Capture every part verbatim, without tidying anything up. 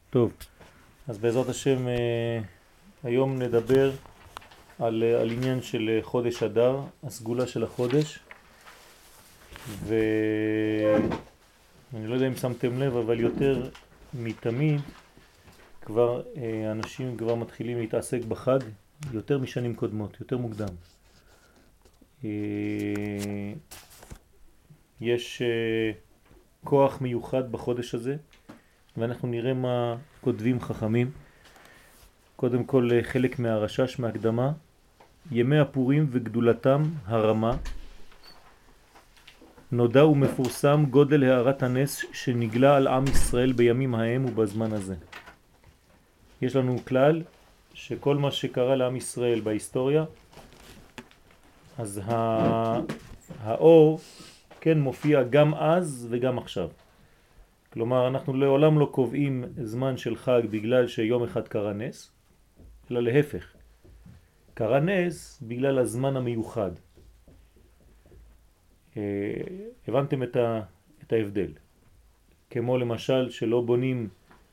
טוב, אז בעזרת השם היום נדבר על, על עניין של חודש אדר, הסגולה של החודש, ואני לא יודע אם שמתם לב, אבל יותר מתמיד כבר אנשים כבר מתחילים להתעסק בחג יותר משנים קודמות, יותר מוקדם. יש כוח מיוחד בחודש הזה, ואנחנו נראה מה כותבים חכמים. קודם כל חלק מהרשש מהקדמה, ימי הפורים וגדולתם הרמה, נודע ומפורסם גודל הערת הנס שנגלה על עם ישראל בימים ההם ובזמן הזה. יש לנו כלל שכל מה שקרה לעם ישראל בהיסטוריה, אז האור כן מופיע גם אז וגם עכשיו. כלומר, אנחנו לעולם לא קובעים זמן של חג בגלל שיום אחד קרה נס, אלא להפך. קרה נס בגלל הזמן המיוחד. הבנתם את, ה, את ההבדל. כמו למשל שלא בונים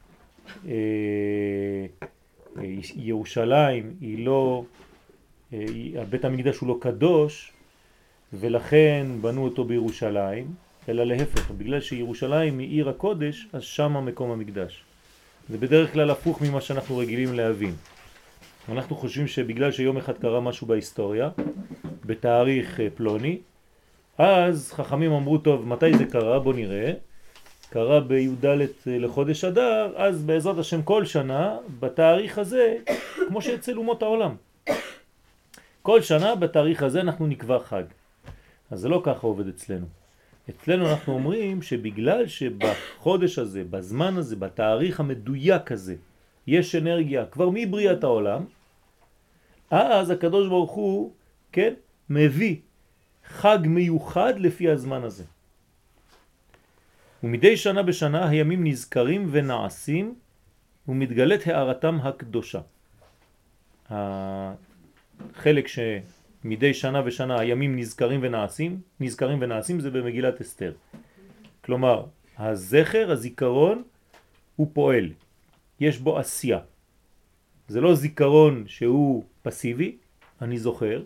אה, ירושלים, היא לא, אה, בית המקדש הוא לא קדוש, ולכן בנו אותו בירושלים, אלא להפך, בגלל שירושלים היא עיר הקודש, אז שם מקום המקדש. זה בדרך כלל הפוך ממה שאנחנו רגילים להבין. אנחנו חושבים שבגלל שיום אחד קרה משהו בהיסטוריה, בתאריך פלוני, אז חכמים אמרו, טוב, מתי זה קרה? בוא נראה. קרה בי"ד לחודש אדר, אז בעזרת השם כל שנה, בתאריך הזה, כמו שאצל אומות העולם. כל שנה בתאריך הזה אנחנו נקבע חג. אז זה לא ככה עובד אצלנו. אצלנו אנחנו אומרים שבגלל שבחודש הזה, בזמן הזה, בתאריך המדויק הזה, יש אנרגיה כבר מבריאת העולם, אז הקדוש ברוך הוא, כן, מביא חג מיוחד לפי הזמן הזה. ומדי שנה בשנה הימים נזכרים ונעשים ומתגלת הערתם הקדושה. החלק שמדי שנה ושנה הימים נזכרים ונעשים, נזכרים ונעשים זה במגילת אסתר. כלומר, הזכר, הזיכרון, הוא פועל. יש בו עשייה. זה לא זיכרון שהוא פסיבי, אני זוכר,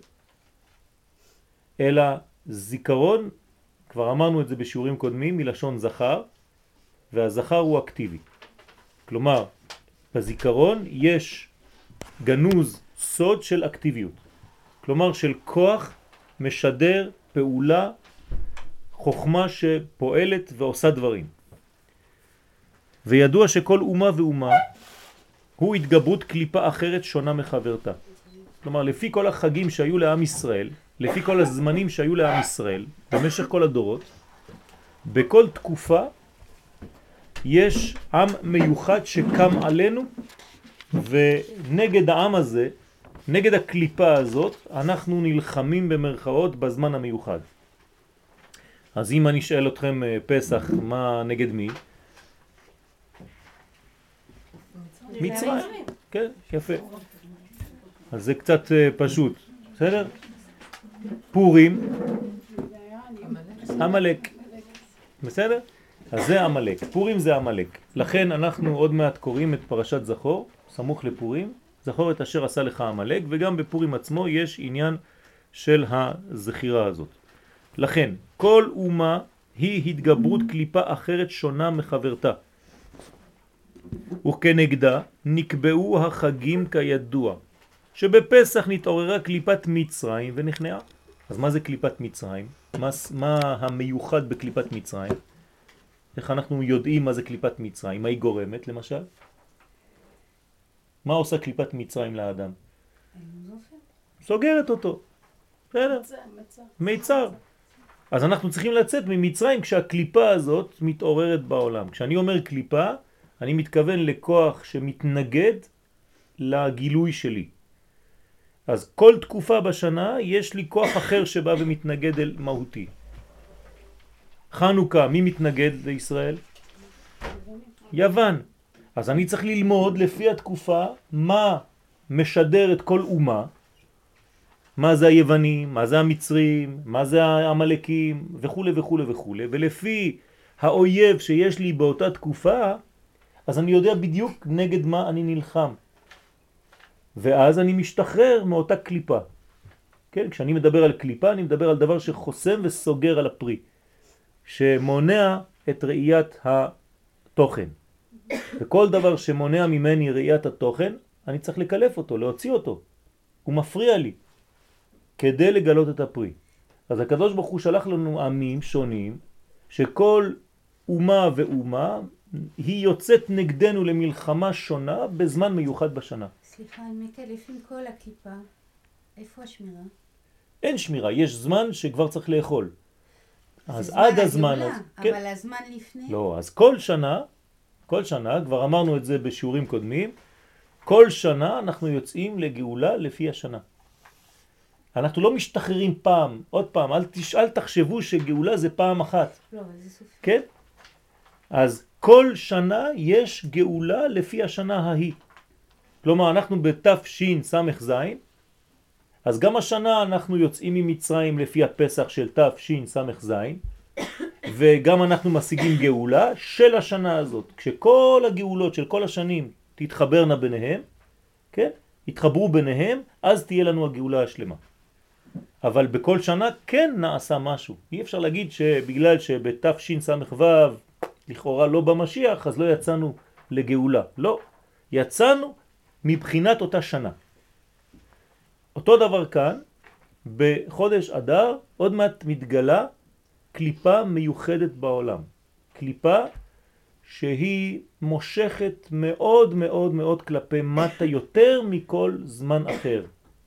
אלא זיכרון, כבר אמרנו את זה בשיעורים קודמים, מלשון זכר, והזכר הוא אקטיבי. כלומר, בזיכרון יש גנוז סוד של אקטיביות. כלומר, של כוח משדר פעולה, חוכמה שפועלת ועושה דברים. וידוע שכל אומה ואומה הוא התגברות קליפה אחרת שונה מחברתה. כלומר, לפי כל החגים שהיו לעם ישראל, לפי כל הזמנים שהיו לעם ישראל, במשך כל הדורות, בכל תקופה יש עם מיוחד שקם עלינו, ונגד העם הזה, נגד הקליפה הזאת, אנחנו נלחמים במרכאות בזמן המיוחד. אז אם אני אשאל אתכם פסח, מה נגד מי? מצרים. כן, יפה. אז זה קצת פשוט, בסדר? פורים, עמלק. בסדר? אז זה עמלק. פורים זה עמלק. לכן אנחנו עוד מעט קוראים את פרשת זכור, סמוך לפורים, זכור את אשר עשה לך עמלק, וגם בפורים עצמו יש עניין של הזכירה הזאת. לכן, כל אומה היא התגברות קליפה אחרת שונה מחברתה. וכנגדה נקבעו החגים כידוע, שבפסח נתעוררה קליפת מצרים ונכנעה. אז מה זה קליפת מצרים? מה, מה המיוחד בקליפת מצרים? איך אנחנו יודעים מה זה קליפת מצרים? מה היא גורמת למשל? מה עושה קליפת מצרים לאדם? סוגרת אותו. בסדר? מיצר. אז אנחנו צריכים לצאת ממצרים כשהקליפה הזאת מתעוררת בעולם. כשאני אומר קליפה, אני מתכוון לכוח שמתנגד לגילוי שלי. אז כל תקופה בשנה יש לי כוח אחר שבא ומתנגד אל מהותי. חנוכה, מי מתנגד לישראל? יוון. אז אני צריך ללמוד לפי התקופה מה משדר את כל אומה, מה זה היוונים, מה זה המצרים, מה זה העמלקים וכו' וכו' וכו', ולפי האויב שיש לי באותה תקופה, אז אני יודע בדיוק נגד מה אני נלחם. ואז אני משתחרר מאותה קליפה. כן? כשאני מדבר על קליפה, אני מדבר על דבר שחוסם וסוגר על הפרי, שמונע את ראיית התוכן. וכל דבר שמונע ממני ראיית התוכן, אני צריך לקלף אותו, להוציא אותו. הוא מפריע לי, כדי לגלות את הפרי. אז הקדוש ברוך הוא שלח לנו עמים שונים, שכל אומה ואומה היא יוצאת נגדנו למלחמה שונה בזמן מיוחד בשנה. סליחה, אני מקלפים כל הקליפה. איפה השמירה? אין שמירה, יש זמן שכבר צריך לאכול. אז עד הזמן... הגאולה, אז, אבל כן. הזמן לפני? לא, אז כל שנה, כל שנה, כבר אמרנו את זה בשיעורים קודמים, כל שנה אנחנו יוצאים לגאולה לפי השנה. אנחנו לא משתחררים פעם, עוד פעם, אל, תש... אל תחשבו שגאולה זה פעם אחת. לא, זה סופי. כן? אז כל שנה יש גאולה לפי השנה ההיא. כלומר, אנחנו בתש"ן סמ"ז, אז גם השנה אנחנו יוצאים ממצרים לפי הפסח של תש"ן סמ"ז, וגם אנחנו משיגים גאולה של השנה הזאת. כשכל הגאולות של כל השנים תתחברנה ביניהם, כן? יתחברו ביניהם, אז תהיה לנו הגאולה השלמה. אבל בכל שנה כן נעשה משהו. אי אפשר להגיד שבגלל שבתש"ן סמ"ו לכאורה לא במשיח, אז לא יצאנו לגאולה. לא, יצאנו מבחינת אותה שנה. אותו דבר כאן, בחודש אדר, עוד מעט מתגלה קליפה מיוחדת בעולם. קליפה שהיא מושכת מאוד מאוד מאוד כלפי מטה יותר מכל זמן אחר.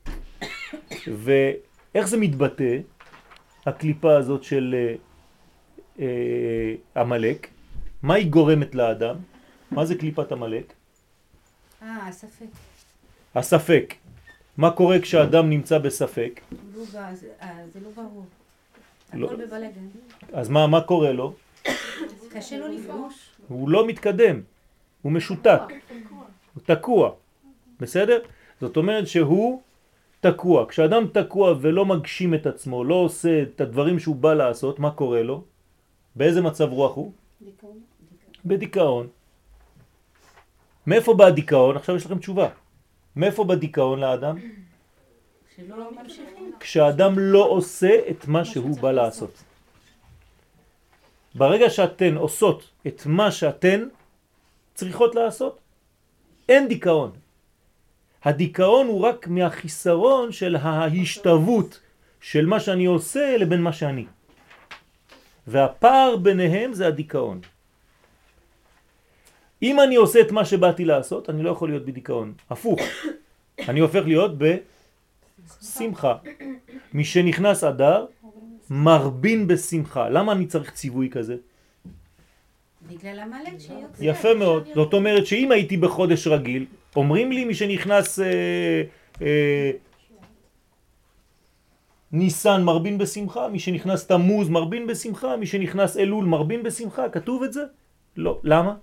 ואיך זה מתבטא, הקליפה הזאת של אה, אה, המלאק? מה היא גורמת לאדם? מה זה קליפת המלאק? אה, הספק. הספק. מה קורה כשאדם נמצא בספק? לא, זה, זה לא ברור. לא. הכל בבלגן. אז מה, מה קורה לו? קשה לו לפרוש. הוא לא מתקדם, הוא משותק, הוא תקוע, בסדר? זאת אומרת שהוא תקוע. כשאדם תקוע ולא מגשים את עצמו, לא עושה את הדברים שהוא בא לעשות, מה קורה לו? באיזה מצב רוח הוא? דיכאון. בדיכאון. מאיפה בא הדיכאון? עכשיו יש לכם תשובה. מאיפה בא דיכאון לאדם? שלא ממשיכים. כשאדם לא עושה את מה שהוא בא לעשות. ברגע שאתן עושות את מה שאתן צריכות לעשות, אין דיכאון. הדיכאון הוא רק מהחיסרון של ההשתוות של מה שאני עושה לבין מה שאני. והפער ביניהם זה הדיכאון. אם אני עושה את מה שבאתי לעשות, אני לא יכול להיות בדיכאון. הפוך. אני הופך להיות בשמחה. מי שנכנס אדר, מרבין בשמחה. למה אני צריך ציווי כזה? בגלל המלאק שיוצא. יפה מאוד. זאת אומרת שאם הייתי בחודש רגיל, אומרים לי מי שנכנס אה, אה, ניסן מרבין בשמחה, מי שנכנס תמוז מרבין בשמחה, מי שנכנס אלול מרבין בשמחה, כתוב את זה? לא. למה?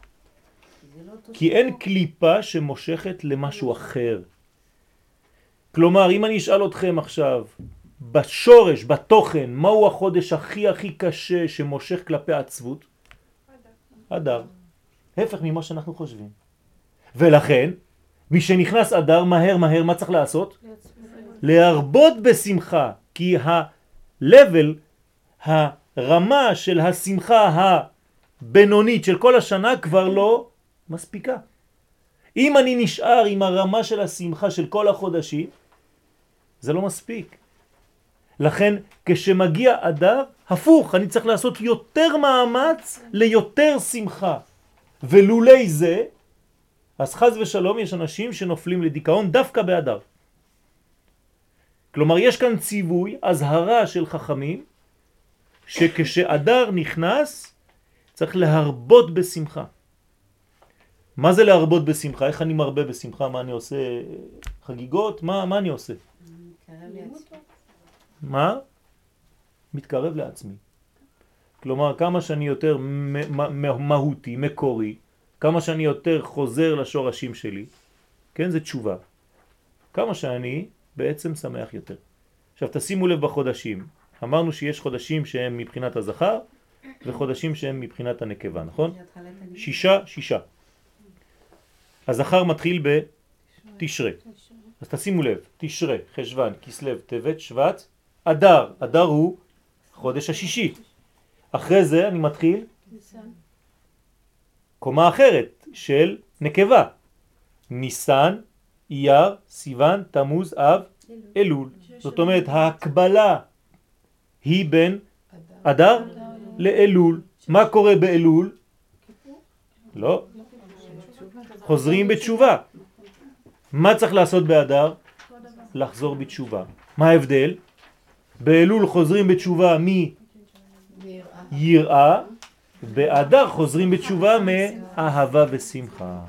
כי אין קליפה שמושכת למשהו אחר. כלומר, אם אני אשאל אתכם עכשיו, בשורש, בתוכן, מהו החודש הכי הכי קשה שמושך כלפי עצבות? אדר. הפך ממה שאנחנו חושבים. ולכן, מי שנכנס אדר, מהר מהר, מה צריך לעשות? להרבות בשמחה, כי ה-level, הרמה של השמחה הבינונית של כל השנה כבר לא מספיקה. אם אני נשאר עם הרמה של השמחה של כל החודשים, זה לא מספיק. לכן כשמגיע אדר, הפוך, אני צריך לעשות יותר מאמץ ליותר שמחה. ולולי זה, אז חז ושלום יש אנשים שנופלים לדיכאון דווקא באדר. כלומר יש כאן ציווי, הזהרה של חכמים, שכשאדר נכנס צריך להרבות בשמחה. מה זה להרבות בשמחה? איך אני מרבה בשמחה? מה אני עושה? חגיגות? מה, מה אני עושה? מה? מתקרב לעצמי. כלומר, כמה שאני יותר מהותי, מקורי, כמה שאני יותר חוזר לשורשים שלי, כן, זה תשובה. כמה שאני בעצם שמח יותר. עכשיו, תשימו לב בחודשים. אמרנו שיש חודשים שהם מבחינת הזכר, וחודשים שהם מבחינת הנקבה, נכון? שישה, שישה. הזכר מתחיל בתשרה. אז תשימו לב, תשרה, חשבן, כסלו, טבת, שבט, אדר. אדר הוא חודש השישי. אחרי זה אני מתחיל קומה אחרת של נקבה. ניסן, אייר, סיוון, תמוז, אב, אלול. זאת אומרת, ההקבלה היא בין אדר לאלול. מה קורה באלול? לא. חוזרים בתשובה. מה צריך לעשות באדר? לחזור בתשובה. מה ההבדל? באלול חוזרים בתשובה מיראה, באדר חוזרים בתשובה מאהבה ושמחה.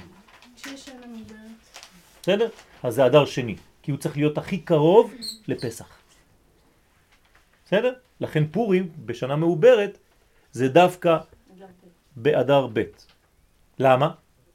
בסדר? אז זה אדר שני, כי הוא צריך להיות הכי קרוב לפסח. בסדר? לכן פורים בשנה מעוברת זה דווקא באדר ב'. למה?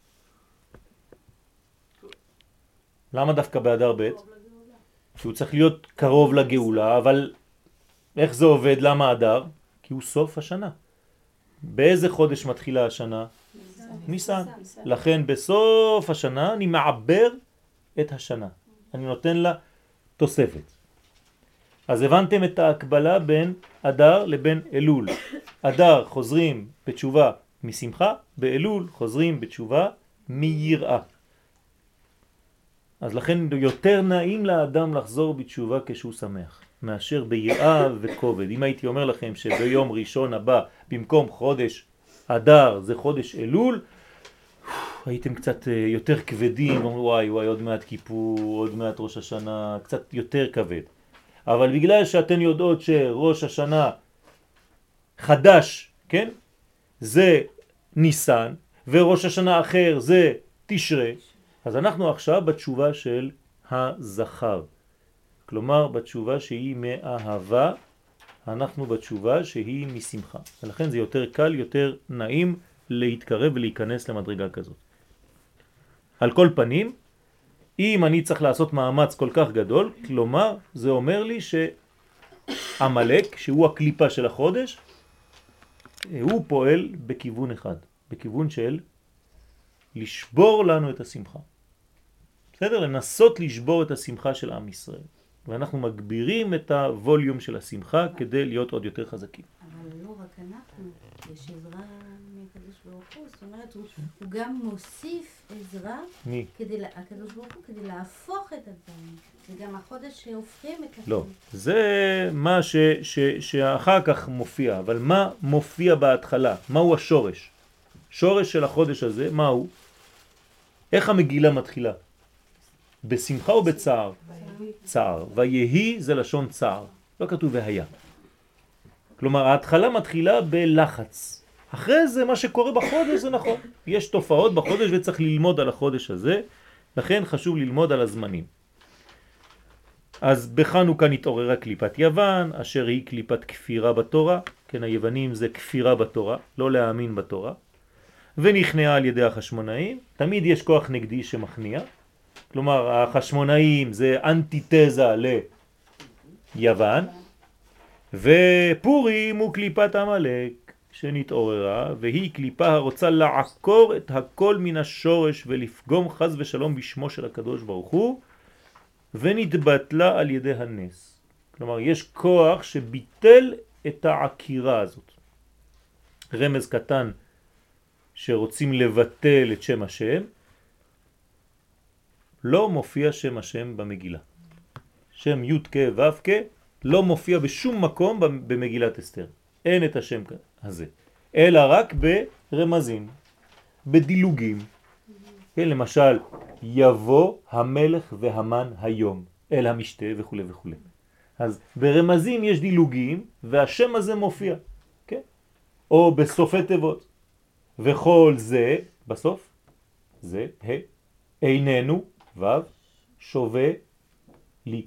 למה דווקא באדר ב'? שהוא צריך להיות קרוב לגאולה, אבל איך זה עובד? למה אדר? כי הוא סוף השנה. באיזה חודש מתחילה השנה? ניסן. לכן בסוף השנה אני מעבר את השנה. אני נותן לה תוספת. אז הבנתם את ההקבלה בין אדר לבין אלול. אדר חוזרים בתשובה משמחה, באלול חוזרים בתשובה מיראה. אז לכן יותר נעים לאדם לחזור בתשובה כשהוא שמח, מאשר ביראה וכובד. אם הייתי אומר לכם שביום ראשון הבא, במקום חודש אדר זה חודש אלול, הייתם קצת יותר כבדים, אומרים וואי וואי עוד מעט כיפור, עוד מעט ראש השנה, קצת יותר כבד. אבל בגלל שאתן יודעות שראש השנה חדש, כן? זה ניסן, וראש השנה אחר זה תשרה, אז אנחנו עכשיו בתשובה של הזכר. כלומר, בתשובה שהיא מאהבה, אנחנו בתשובה שהיא משמחה. ולכן זה יותר קל, יותר נעים להתקרב ולהיכנס למדרגה כזאת. על כל פנים, אם אני צריך לעשות מאמץ כל כך גדול, כלומר, זה אומר לי שהמלאק, שהוא הקליפה של החודש, הוא פועל בכיוון אחד, בכיוון של לשבור לנו את השמחה. בסדר? לנסות לשבור את השמחה של עם ישראל. ואנחנו מגבירים את הווליום של השמחה כדי להיות עוד יותר חזקים. אבל לא רק אנחנו, יש עזרה מהקדוש ברוך הוא, זאת אומרת, הוא, הוא גם מוסיף עזרה, מי? כדי, הקדוש ברוך הוא, כדי להפוך את הדברים. זה גם החודש שהופכים את הדברים. לא, זה מה ש, ש, שאחר כך מופיע, אבל מה מופיע בהתחלה? מהו השורש? שורש של החודש הזה, מהו? איך המגילה מתחילה? בשמחה או בצער? צער. ויהי זה לשון צער. לא כתוב והיה. כלומר, ההתחלה מתחילה בלחץ. אחרי זה מה שקורה בחודש זה נכון. יש תופעות בחודש וצריך ללמוד על החודש הזה, לכן חשוב ללמוד על הזמנים. אז בחנוכה נתעוררה קליפת יוון, אשר היא קליפת כפירה בתורה. כן, היוונים זה כפירה בתורה, לא להאמין בתורה. ונכנעה על ידי החשמונאים. תמיד יש כוח נגדי שמכניע. כלומר, החשמונאים זה אנטיתזה ליוון, ופורים הוא קליפת המלאק שנתעוררה, והיא קליפה הרוצה לעקור את הכל מן השורש ולפגום חז ושלום בשמו של הקדוש ברוך הוא, ונתבטלה על ידי הנס. כלומר, יש כוח שביטל את העקירה הזאת. רמז קטן שרוצים לבטל את שם השם, לא מופיע שם השם במגילה. שם י' כ' ו' כ' לא מופיע בשום מקום במגילת אסתר. אין את השם הזה. אלא רק ברמזים, בדילוגים. כן, למשל, יבוא המלך והמן היום אל המשתה וכו' וכו'. אז ברמזים יש דילוגים והשם הזה מופיע. כן? או בסופי תיבות. וכל זה, בסוף, זה, ה, איננו, ו' שווה לי.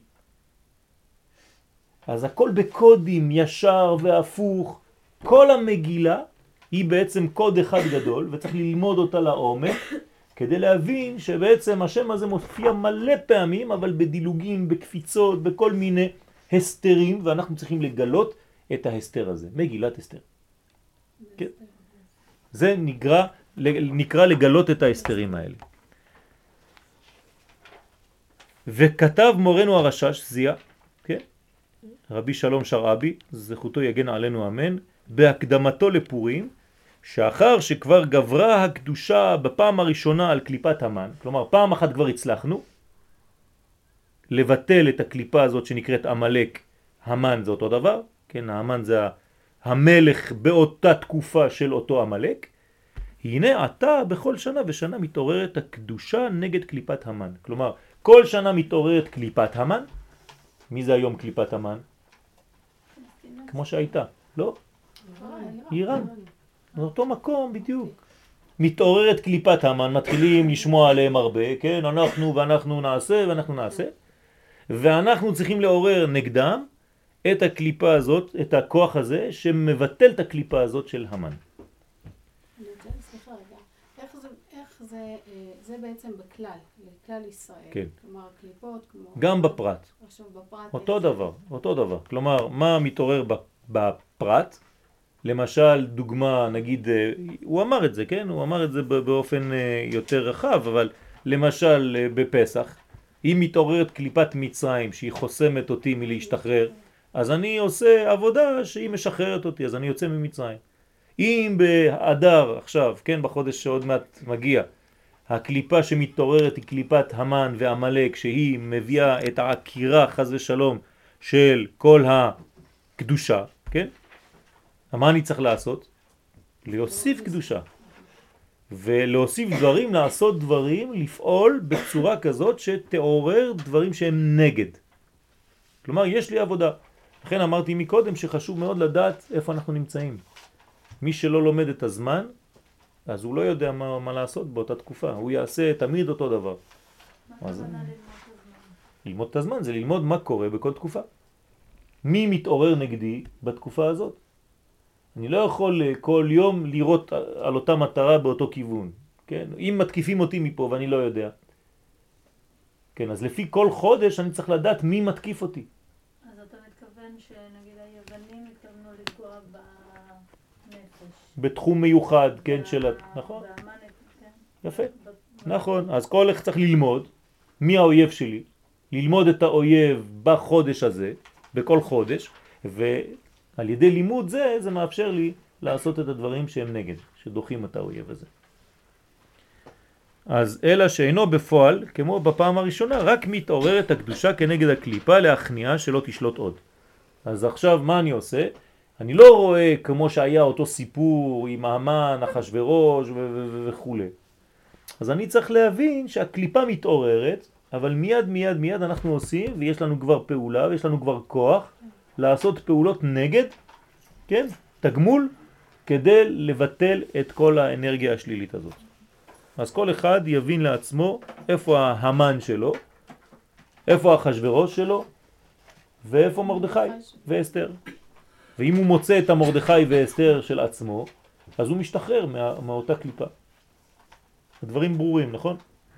אז הכל בקודים ישר והפוך. כל המגילה היא בעצם קוד אחד גדול, וצריך ללמוד אותה לעומק, כדי להבין שבעצם השם הזה מופיע מלא פעמים, אבל בדילוגים, בקפיצות, בכל מיני הסתרים, ואנחנו צריכים לגלות את ההסתר הזה. מגילת הסתר. כן? זה נקרא, נקרא לגלות את ההסתרים האלה. וכתב מורנו הרשש, זיה, כן? רבי שלום שרעבי, זכותו יגן עלינו אמן, בהקדמתו לפורים, שאחר שכבר גברה הקדושה בפעם הראשונה על קליפת המן, כלומר פעם אחת כבר הצלחנו לבטל את הקליפה הזאת שנקראת עמלק, המן זה אותו דבר, כן, המן זה המלך באותה תקופה של אותו עמלק, הנה עתה בכל שנה ושנה מתעוררת הקדושה נגד קליפת המן, כלומר כל שנה מתעוררת קליפת המן. מי זה היום קליפת המן? כמו שהייתה, לא? איראן. זה אותו מקום בדיוק. מתעוררת קליפת המן, מתחילים לשמוע עליהם הרבה, כן? אנחנו ואנחנו נעשה ואנחנו נעשה. ואנחנו צריכים לעורר נגדם את הקליפה הזאת, את הכוח הזה, שמבטל את הקליפה הזאת של המן. סליחה רגע, איך זה, איך זה, זה בעצם בכלל, לכלל ישראל. כן. כלומר, קליפות כמו... גם בפרט. עכשיו בפרט... אותו דבר, אותו דבר. כלומר, מה מתעורר בפרט? למשל, דוגמה, נגיד, הוא אמר את זה, כן? הוא אמר את זה באופן יותר רחב, אבל למשל בפסח, אם מתעוררת קליפת מצרים שהיא חוסמת אותי מלהשתחרר, אז אני עושה עבודה שהיא משחררת אותי, אז אני יוצא ממצרים. אם באדר עכשיו, כן, בחודש שעוד מעט מגיע, הקליפה שמתעוררת היא קליפת המן ועמלק, שהיא מביאה את העקירה חס ושלום של כל הקדושה, כן? מה אני צריך לעשות? להוסיף קדושה. ולהוסיף דברים, לעשות דברים, לפעול בצורה כזאת שתעורר דברים שהם נגד. כלומר, יש לי עבודה. לכן אמרתי מקודם שחשוב מאוד לדעת איפה אנחנו נמצאים. מי שלא לומד את הזמן, אז הוא לא יודע מה, מה לעשות באותה תקופה. הוא יעשה תמיד אותו דבר. מה זה? ללמוד את הזמן זה ללמוד מה קורה בכל תקופה. מי מתעורר נגדי בתקופה הזאת? אני לא יכול כל יום לראות על אותה מטרה באותו כיוון. כן? אם מתקיפים אותי מפה ואני לא יודע. כן, אז לפי כל חודש אני צריך לדעת מי מתקיף אותי. אז אתה מתכוון שנגיד היוונים התכוונו לפגוע בנפש. בתחום מיוחד, כן, של... נכון? באמן, כן. יפה. נכון. אז כל אחד צריך ללמוד מי האויב שלי, ללמוד את האויב בחודש הזה, בכל חודש, ועל ידי לימוד זה, זה מאפשר לי לעשות את הדברים שהם נגד, שדוחים את האויב הזה. אז אלא שאינו בפועל, כמו בפעם הראשונה, רק מתעוררת הקדושה כנגד הקליפה להכניעה שלא תשלוט עוד. אז עכשיו מה אני עושה? אני לא רואה כמו שהיה אותו סיפור עם המן, אחשוורוש וכו'. אז אני צריך להבין שהקליפה מתעוררת, אבל מיד מיד מיד אנחנו עושים, ויש לנו כבר פעולה, ויש לנו כבר כוח לעשות פעולות נגד, כן? תגמול, כדי לבטל את כל האנרגיה השלילית הזאת. אז כל אחד יבין לעצמו איפה ההמן שלו, איפה אחשוורוש שלו, ואיפה מרדכי ואסתר. ואם הוא מוצא את המרדכי ואסתר של עצמו, אז הוא משתחרר מה, מאותה קליפה. הדברים ברורים, נכון?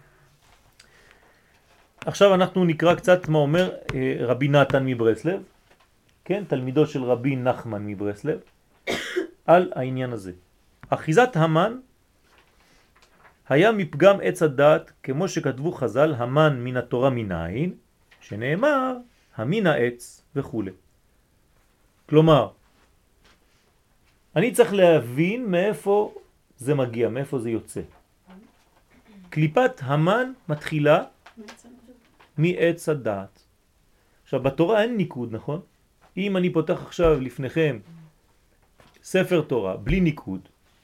עכשיו אנחנו נקרא קצת מה אומר רבי נתן מברסלב, כן, תלמידו של רבי נחמן מברסלב, על העניין הזה. אחיזת המן היה מפגם עץ הדעת, כמו שכתבו חז"ל, המן מן התורה מנין, שנאמר המין העץ וכו'. כלומר, אני צריך להבין מאיפה זה מגיע, מאיפה זה יוצא. קליפת המן מתחילה מעץ הדעת. עכשיו, בתורה אין ניקוד, נכון? אם אני פותח עכשיו לפניכם ספר תורה בלי ניקוד,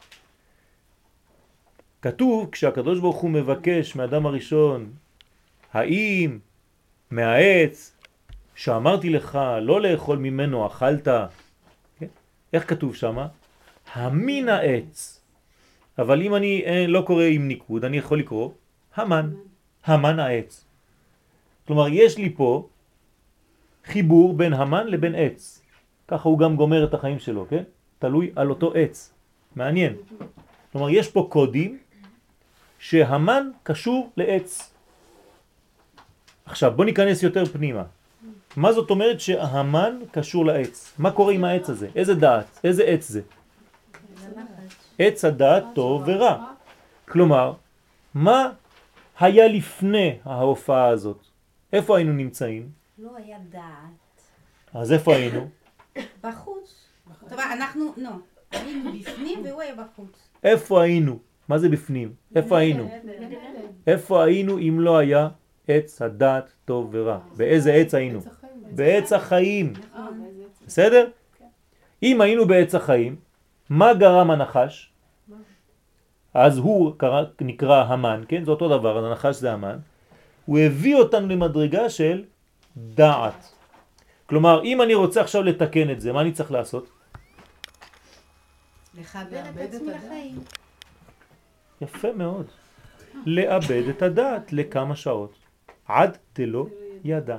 כתוב כשהקדוש ברוך הוא מבקש מאדם הראשון, האם מהעץ שאמרתי לך לא לאכול ממנו אכלת, כן? איך כתוב שמה? המין העץ. אבל אם אני לא קורא עם ניקוד, אני יכול לקרוא המן, המן העץ. כלומר, יש לי פה חיבור בין המן לבין עץ. ככה הוא גם גומר את החיים שלו, כן? תלוי על אותו עץ. מעניין. כלומר, יש פה קודים שהמן קשור לעץ. עכשיו, בוא ניכנס יותר פנימה. מה זאת אומרת שהמן קשור לעץ? מה קורה עם העץ הזה? איזה דעת? איזה עץ זה? עץ הדעת טוב ורע. כלומר, מה היה לפני ההופעה הזאת? איפה היינו נמצאים? לא היה דעת. אז איפה היינו? בחוץ. טוב, אנחנו, לא, היינו בפנים והוא היה בחוץ. איפה היינו? מה זה בפנים? איפה היינו? גן עדן. איפה היינו אם לא היה עץ הדעת טוב ורע? באיזה עץ היינו? עץ החיים. בעץ החיים. אה, באיזה עץ? בסדר? אם היינו בעץ החיים, מה גרם הנחש? אז הוא קרא, נקרא המן, כן? זה אותו דבר, הנחש זה המן. הוא הביא אותנו למדרגה של דעת. כלומר, אם אני רוצה עכשיו לתקן את זה, מה אני צריך לעשות? לחבר את עצמי לחיים. יפה מאוד. לאבד את הדעת לכמה שעות. עד דלא ידע.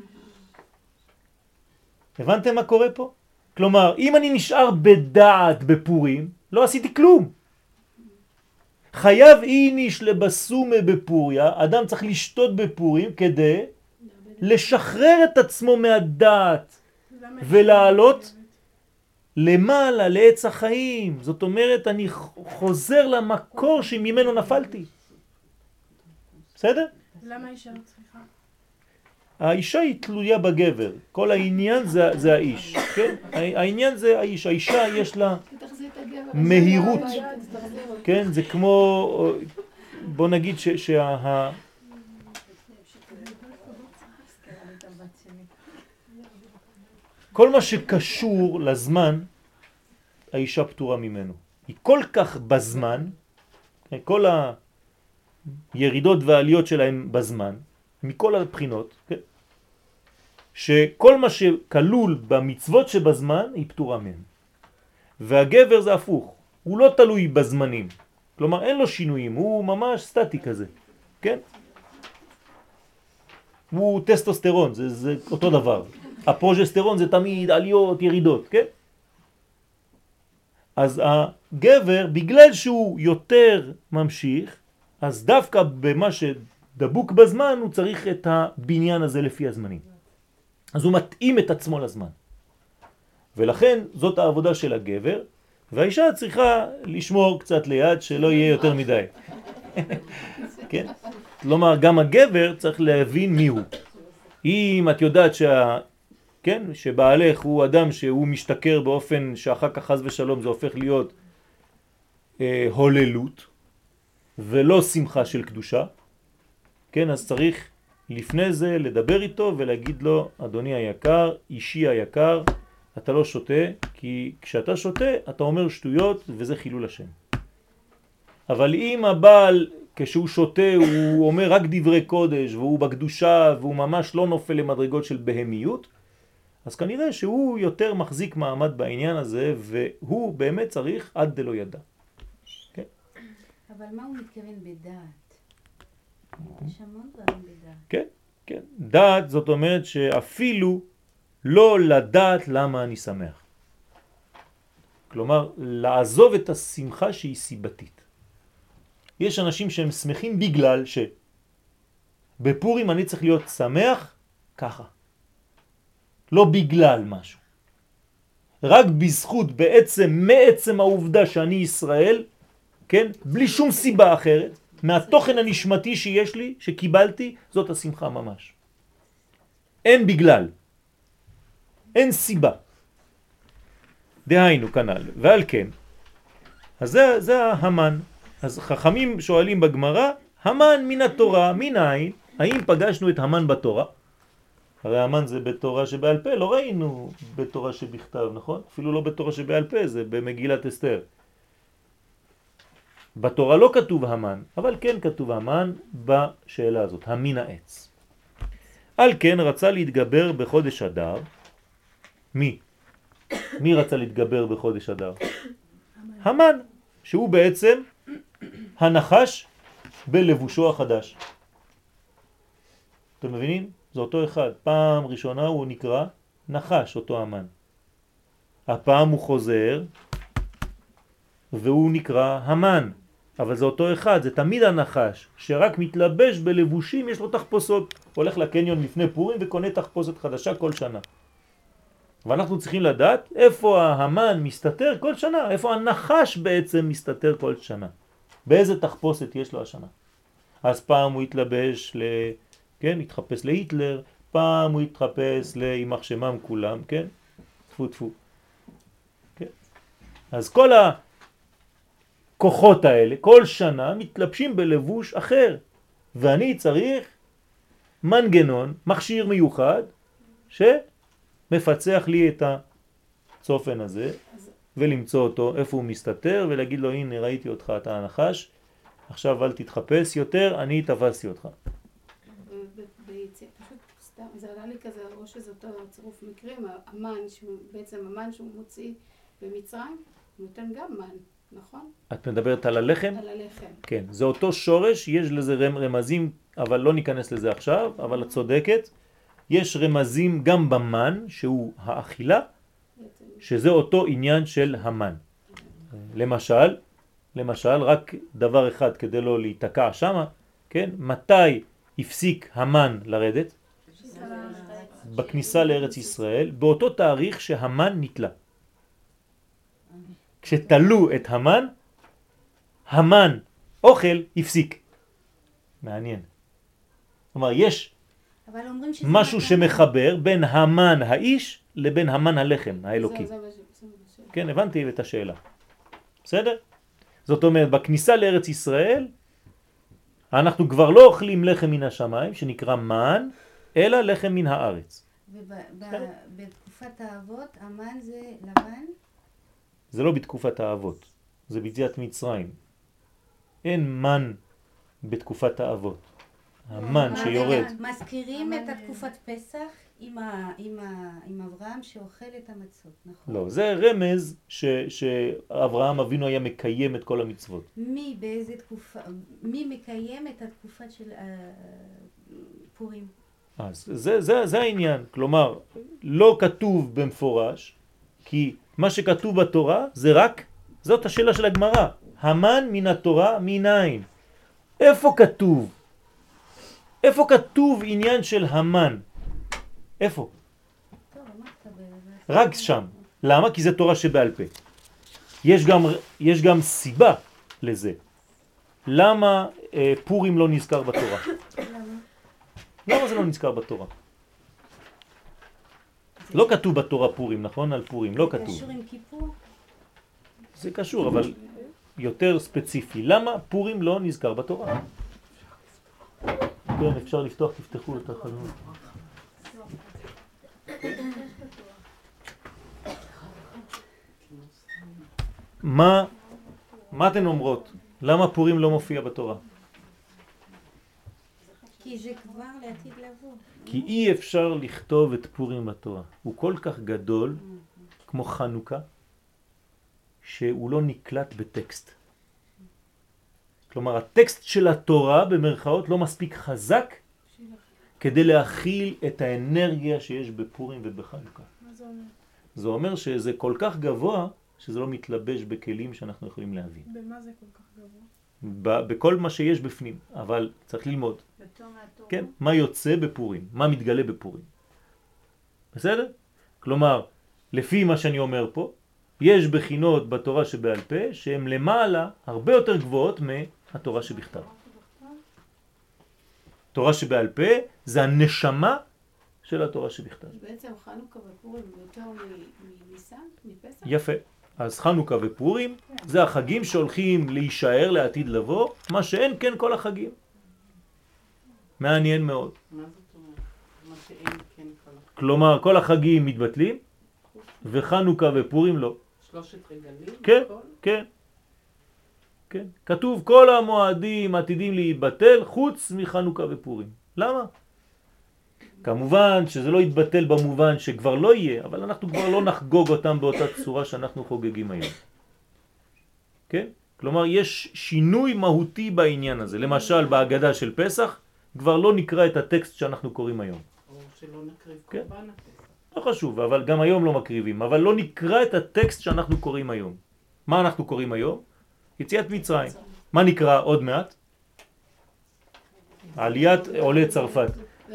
הבנתם מה קורה פה? כלומר, אם אני נשאר בדעת בפורים, לא עשיתי כלום. חייב איניש לבסומה בפוריה, אדם צריך לשתות בפורים כדי לשחרר את עצמו מהדעת ולעלות למעלה, לעץ החיים. זאת אומרת, אני חוזר למקור שממנו נפלתי. בסדר? למה אישה לא צריכה? האישה היא תלויה בגבר. כל העניין זה, זה האיש. כן? העניין זה האיש. האישה יש לה תחזיר את הגבר. מהירות. תחזיר אותו. כן? זה כמו, בוא נגיד ש, שה... כל מה שקשור לזמן, האישה פטורה ממנו. היא כל כך בזמן, כל הירידות והעליות שלהם בזמן, מכל הבחינות, כן? שכל מה שכלול במצוות שבזמן, היא פטורה מהם. והגבר זה הפוך, הוא לא תלוי בזמנים. כלומר, אין לו שינויים, הוא ממש סטטי כזה, כן? הוא טסטוסטרון, זה, זה אותו דבר. הפרוג'סטרון זה תמיד עליות, ירידות, כן? אז הגבר, בגלל שהוא יותר ממשיך, אז דווקא במה שדבוק בזמן, הוא צריך את הבניין הזה לפי הזמנים. אז הוא מתאים את עצמו לזמן. ולכן זאת העבודה של הגבר, והאישה צריכה לשמור קצת ליד שלא יהיה יותר מדי. כן? כלומר, גם הגבר צריך להבין מי הוא. אם את יודעת שה... כן? שבעלך הוא אדם שהוא משתכר באופן שאחר כך חס ושלום זה הופך להיות אה, הוללות ולא שמחה של קדושה, כן? אז צריך לפני זה לדבר איתו ולהגיד לו, אדוני היקר, אישי היקר, אתה לא שותה, כי כשאתה שותה אתה אומר שטויות וזה חילול השם. אבל אם הבעל כשהוא שותה הוא אומר רק דברי קודש והוא בקדושה והוא ממש לא נופל למדרגות של בהמיות, אז כנראה שהוא יותר מחזיק מעמד בעניין הזה, והוא באמת צריך עד דלא ידע. כן? אבל מה הוא מתכוון בדעת? יש המון דברים בדעת. כן, כן. דעת זאת אומרת שאפילו לא לדעת למה אני שמח. כלומר, לעזוב את השמחה שהיא סיבתית. יש אנשים שהם שמחים בגלל ש... בפורים אני צריך להיות שמח ככה. לא בגלל משהו. רק בזכות בעצם, מעצם העובדה שאני ישראל, כן? בלי שום סיבה אחרת, מהתוכן הנשמתי שיש לי, שקיבלתי, זאת השמחה ממש. אין בגלל. אין סיבה. דהיינו כנ"ל. ועל כן, אז זה, זה המן. אז חכמים שואלים בגמרא, המן מן התורה, מן העין, האם פגשנו את המן בתורה? הרי המן זה בתורה שבעל פה, לא ראינו בתורה שבכתב, נכון? אפילו לא בתורה שבעל פה, זה במגילת אסתר. בתורה לא כתוב המן, אבל כן כתוב המן בשאלה הזאת, המין העץ. על כן רצה להתגבר בחודש אדר. מי? מי רצה להתגבר בחודש אדר? המן, שהוא בעצם הנחש בלבושו החדש. אתם מבינים? זה אותו אחד. פעם ראשונה הוא נקרא נחש, אותו המן. הפעם הוא חוזר והוא נקרא המן. אבל זה אותו אחד, זה תמיד הנחש, שרק מתלבש בלבושים, יש לו תחפושות. הולך לקניון לפני פורים וקונה תחפושת חדשה כל שנה. ואנחנו צריכים לדעת איפה ההמן מסתתר כל שנה, איפה הנחש בעצם מסתתר כל שנה. באיזה תחפושת יש לו השנה. אז פעם הוא התלבש כן? התחפש להיטלר, פעם הוא התחפש לאימח שמם כולם, כן? תפו תפו. כן? אז כל הכוחות האלה, כל שנה מתלבשים בלבוש אחר, ואני צריך מנגנון, מכשיר מיוחד, שמפצח לי את הצופן הזה, ולמצוא אותו איפה הוא מסתתר, ולהגיד לו, הנה ראיתי אותך, אתה הנחש, עכשיו אל תתחפש יותר, אני תפסתי אותך. פשוט סתם, זה עלה לי כזה, או שזה אותו צירוף מקרים, המן, בעצם המן שהוא מוציא במצרים, הוא נותן גם מן, נכון? את מדברת על הלחם? על הלחם. כן, זה אותו שורש, יש לזה רמזים, אבל לא ניכנס לזה עכשיו, אבל את צודקת. יש רמזים גם במן, שהוא האכילה, שזה אותו עניין של המן. למשל, למשל, רק דבר אחד כדי לא להתקע שמה, כן? מתי הפסיק המן לרדת? בכניסה לארץ ישראל, באותו תאריך שהמן נתלה. כשתלו את המן, המן אוכל הפסיק. מעניין. כלומר, יש משהו שמחבר בין המן האיש לבין המן הלחם האלוקי. כן, הבנתי את השאלה. בסדר? זאת אומרת, בכניסה לארץ ישראל, אנחנו כבר לא אוכלים לחם מן השמיים, שנקרא מן, אלא לחם מן הארץ. ובתקופת האבות, המן זה לבן? זה לא בתקופת האבות, זה ביציאת מצרים. אין מן בתקופת האבות. המן שיורד. מזכירים את תקופת פסח עם אברהם שאוכל את המצות, נכון? לא, זה רמז שאברהם אבינו היה מקיים את כל המצוות. מי, באיזה תקופה, מי מקיים את התקופה של פורים? אז זה, זה, זה העניין. כלומר, לא כתוב במפורש, כי מה שכתוב בתורה זה רק, זאת השאלה של הגמרא. המן מן התורה מנין? איפה כתוב? איפה כתוב עניין של המן? איפה? רק שם. למה? כי זה תורה שבעל פה. יש גם, יש גם סיבה לזה. למה אה, פורים לא נזכר בתורה? למה? למה זה לא נזכר בתורה? לא כתוב בתורה פורים, נכון? על פורים, לא כתוב. קשור עם כיפור? זה קשור, אבל יותר ספציפי. למה פורים לא נזכר בתורה? כן, אפשר לפתוח, תפתחו את החלונות. מה, מה אתן אומרות? למה פורים לא מופיע בתורה? כי זה כבר לעתיד לבוא. כי אי אפשר לכתוב את פורים בתורה. הוא כל כך גדול, כמו חנוכה, שהוא לא נקלט בטקסט. כלומר, הטקסט של התורה במרכאות לא מספיק חזק כדי להכיל את האנרגיה שיש בפורים ובחנוכה. מה זה אומר? זה אומר שזה כל כך גבוה שזה לא מתלבש בכלים שאנחנו יכולים להבין. במה זה כל כך גבוה? ב- בכל מה שיש בפנים, אבל צריך ללמוד. כן? מה יוצא בפורים? מה מתגלה בפורים? בסדר? כלומר, לפי מה שאני אומר פה, יש בחינות בתורה שבעל פה שהן למעלה הרבה יותר גבוהות מהתורה שבכתב. תורה שבעל פה זה הנשמה של התורה שבכתב. בעצם חנוכה ופורים יותר מניסן, מפסח? יפה. אז חנוכה ופורים זה החגים שהולכים להישאר לעתיד לבוא, מה שאין כן כל החגים. מעניין מאוד. מה זאת אומרת? מה שאין כן כל החגים? כלומר, כל החגים מתבטלים, וחנוכה ופורים לא. שלושת רגלים? כן, כן. כן. כתוב כל המועדים עתידים להיבטל חוץ מחנוכה ופורים. למה? כמובן שזה לא יתבטל במובן שכבר לא יהיה, אבל אנחנו כבר לא נחגוג אותם באותה צורה שאנחנו חוגגים היום. כן? כלומר, יש שינוי מהותי בעניין הזה. למשל, בהגדה של פסח, כבר לא נקרא את הטקסט שאנחנו קוראים היום. או שלא נקריב כן. קורבן הפסח. לא חשוב, אבל גם היום לא מקריבים. אבל לא נקרא את הטקסט שאנחנו קוראים היום. מה אנחנו קוראים היום? יציאת מצרים. מה נקרא עוד מעט? עליית עולי צרפת.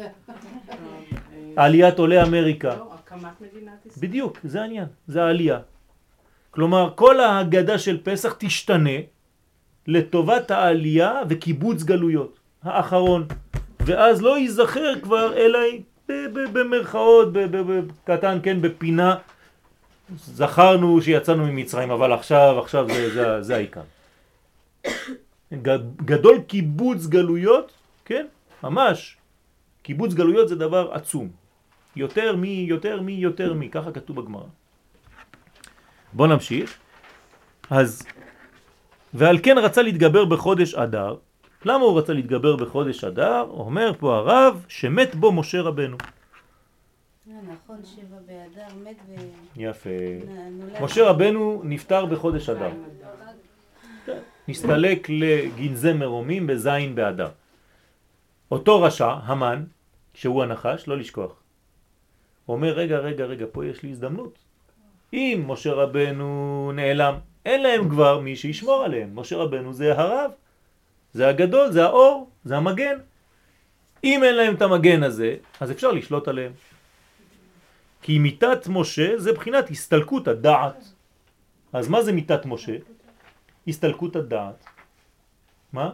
עליית עולי אמריקה. לא, הקמת מדינת ישראל. בדיוק, זה העניין, זה העלייה. כלומר, כל ההגדה של פסח תשתנה לטובת העלייה וקיבוץ גלויות. האחרון. ואז לא ייזכר כבר אלא במרכאות, בקטן, כן, בפינה. זכרנו שיצאנו ממצרים, אבל עכשיו, עכשיו זה, זה, זה העיקר. גדול קיבוץ גלויות, כן, ממש. קיבוץ גלויות זה דבר עצום. יותר מי, יותר מי, יותר מי, ככה כתוב בגמרא. בוא נמשיך. אז, ועל כן רצה להתגבר בחודש אדר. למה הוא רצה להתגבר בחודש אדר? אומר פה הרב שמת בו משה רבנו. נכון, שבע באדר, מת ו... יפה. נולד. משה רבנו נפטר בחודש אדר. נסתלק לגנזי מרומים בזין באדר. אותו רשע, המן, שהוא הנחש, לא לשכוח. הוא אומר, רגע, רגע, רגע, פה יש לי הזדמנות. אם משה רבנו נעלם, אין להם כבר מי שישמור עליהם. משה רבנו זה הרב, זה הגדול, זה האור, זה המגן. אם אין להם את המגן הזה, אז אפשר לשלוט עליהם. כי מיטת משה זה בחינת הסתלקות הדעת. אז מה זה מיטת משה? הסתלקות הדעת. מה?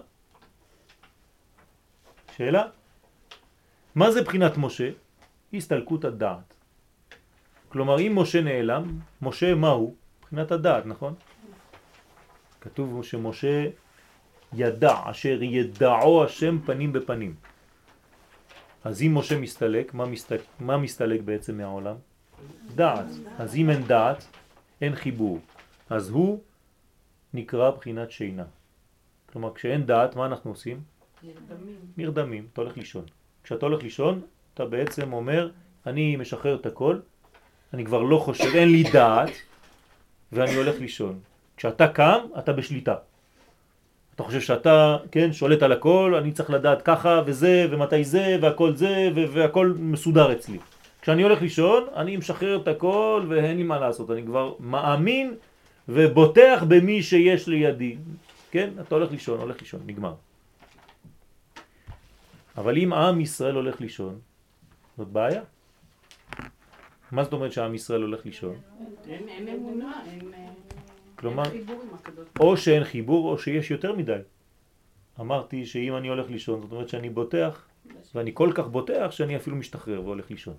שאלה? מה זה בחינת משה? הסתלקות הדעת. כלומר, אם משה נעלם, משה מה הוא? בחינת הדעת, נכון? כתוב שמשה ידע, אשר ידעו השם פנים בפנים. אז אם משה מסתלק, מה מסתלק, מה מסתלק בעצם מהעולם? דעת. אז אם אין דעת, אין חיבור. אז הוא נקרא בחינת שינה. כלומר, כשאין דעת, מה אנחנו עושים? נרדמים. נרדמים, אתה הולך לישון. כשאתה הולך לישון, אתה בעצם אומר, אני משחרר את הכל, אני כבר לא חושב, אין לי דעת, ואני הולך לישון. כשאתה קם, אתה בשליטה. אתה חושב שאתה, כן, שולט על הכל, אני צריך לדעת ככה וזה ומתי זה והכל זה והכל מסודר אצלי. כשאני הולך לישון, אני משחרר את הכל ואין לי מה לעשות. אני כבר מאמין ובוטח במי שיש לידי. כן? אתה הולך לישון, הולך לישון, נגמר. אבל אם עם ישראל הולך לישון, זאת בעיה. מה זאת אומרת שהעם ישראל הולך לישון? אין אין אמונה, אין כלומר, אין חיבור עם הקדוש. או שאין חיבור או שיש יותר מדי. אמרתי שאם אני הולך לישון, זאת אומרת שאני בוטח, ואני כל כך בוטח שאני אפילו משתחרר והולך לישון.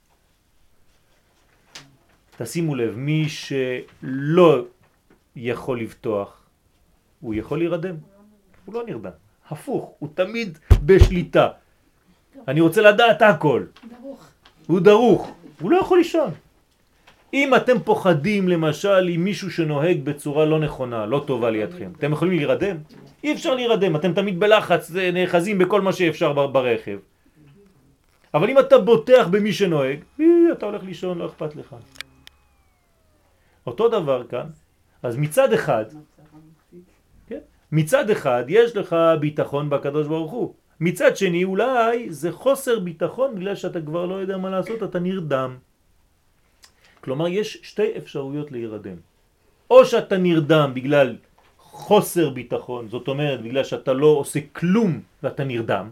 תשימו לב, מי שלא יכול לבטוח, הוא יכול להירדם. הוא לא נרדם. הפוך, הוא תמיד בשליטה. אני רוצה לדעת הכל. דרוך. הוא דרוך, הוא לא יכול לישון. אם אתם פוחדים למשל עם מישהו שנוהג בצורה לא נכונה, לא טובה לידכם, אתם יכולים להירדם? אי אפשר להירדם, אתם תמיד בלחץ, נאחזים בכל מה שאפשר ברכב. אבל אם אתה בוטח במי שנוהג, אתה הולך לישון, לא אכפת לך. אותו דבר כאן, אז מצד אחד, כן? מצד אחד יש לך ביטחון בקדוש ברוך הוא. מצד שני אולי זה חוסר ביטחון בגלל שאתה כבר לא יודע מה לעשות, אתה נרדם. כלומר יש שתי אפשרויות להירדם. או שאתה נרדם בגלל חוסר ביטחון, זאת אומרת בגלל שאתה לא עושה כלום ואתה נרדם.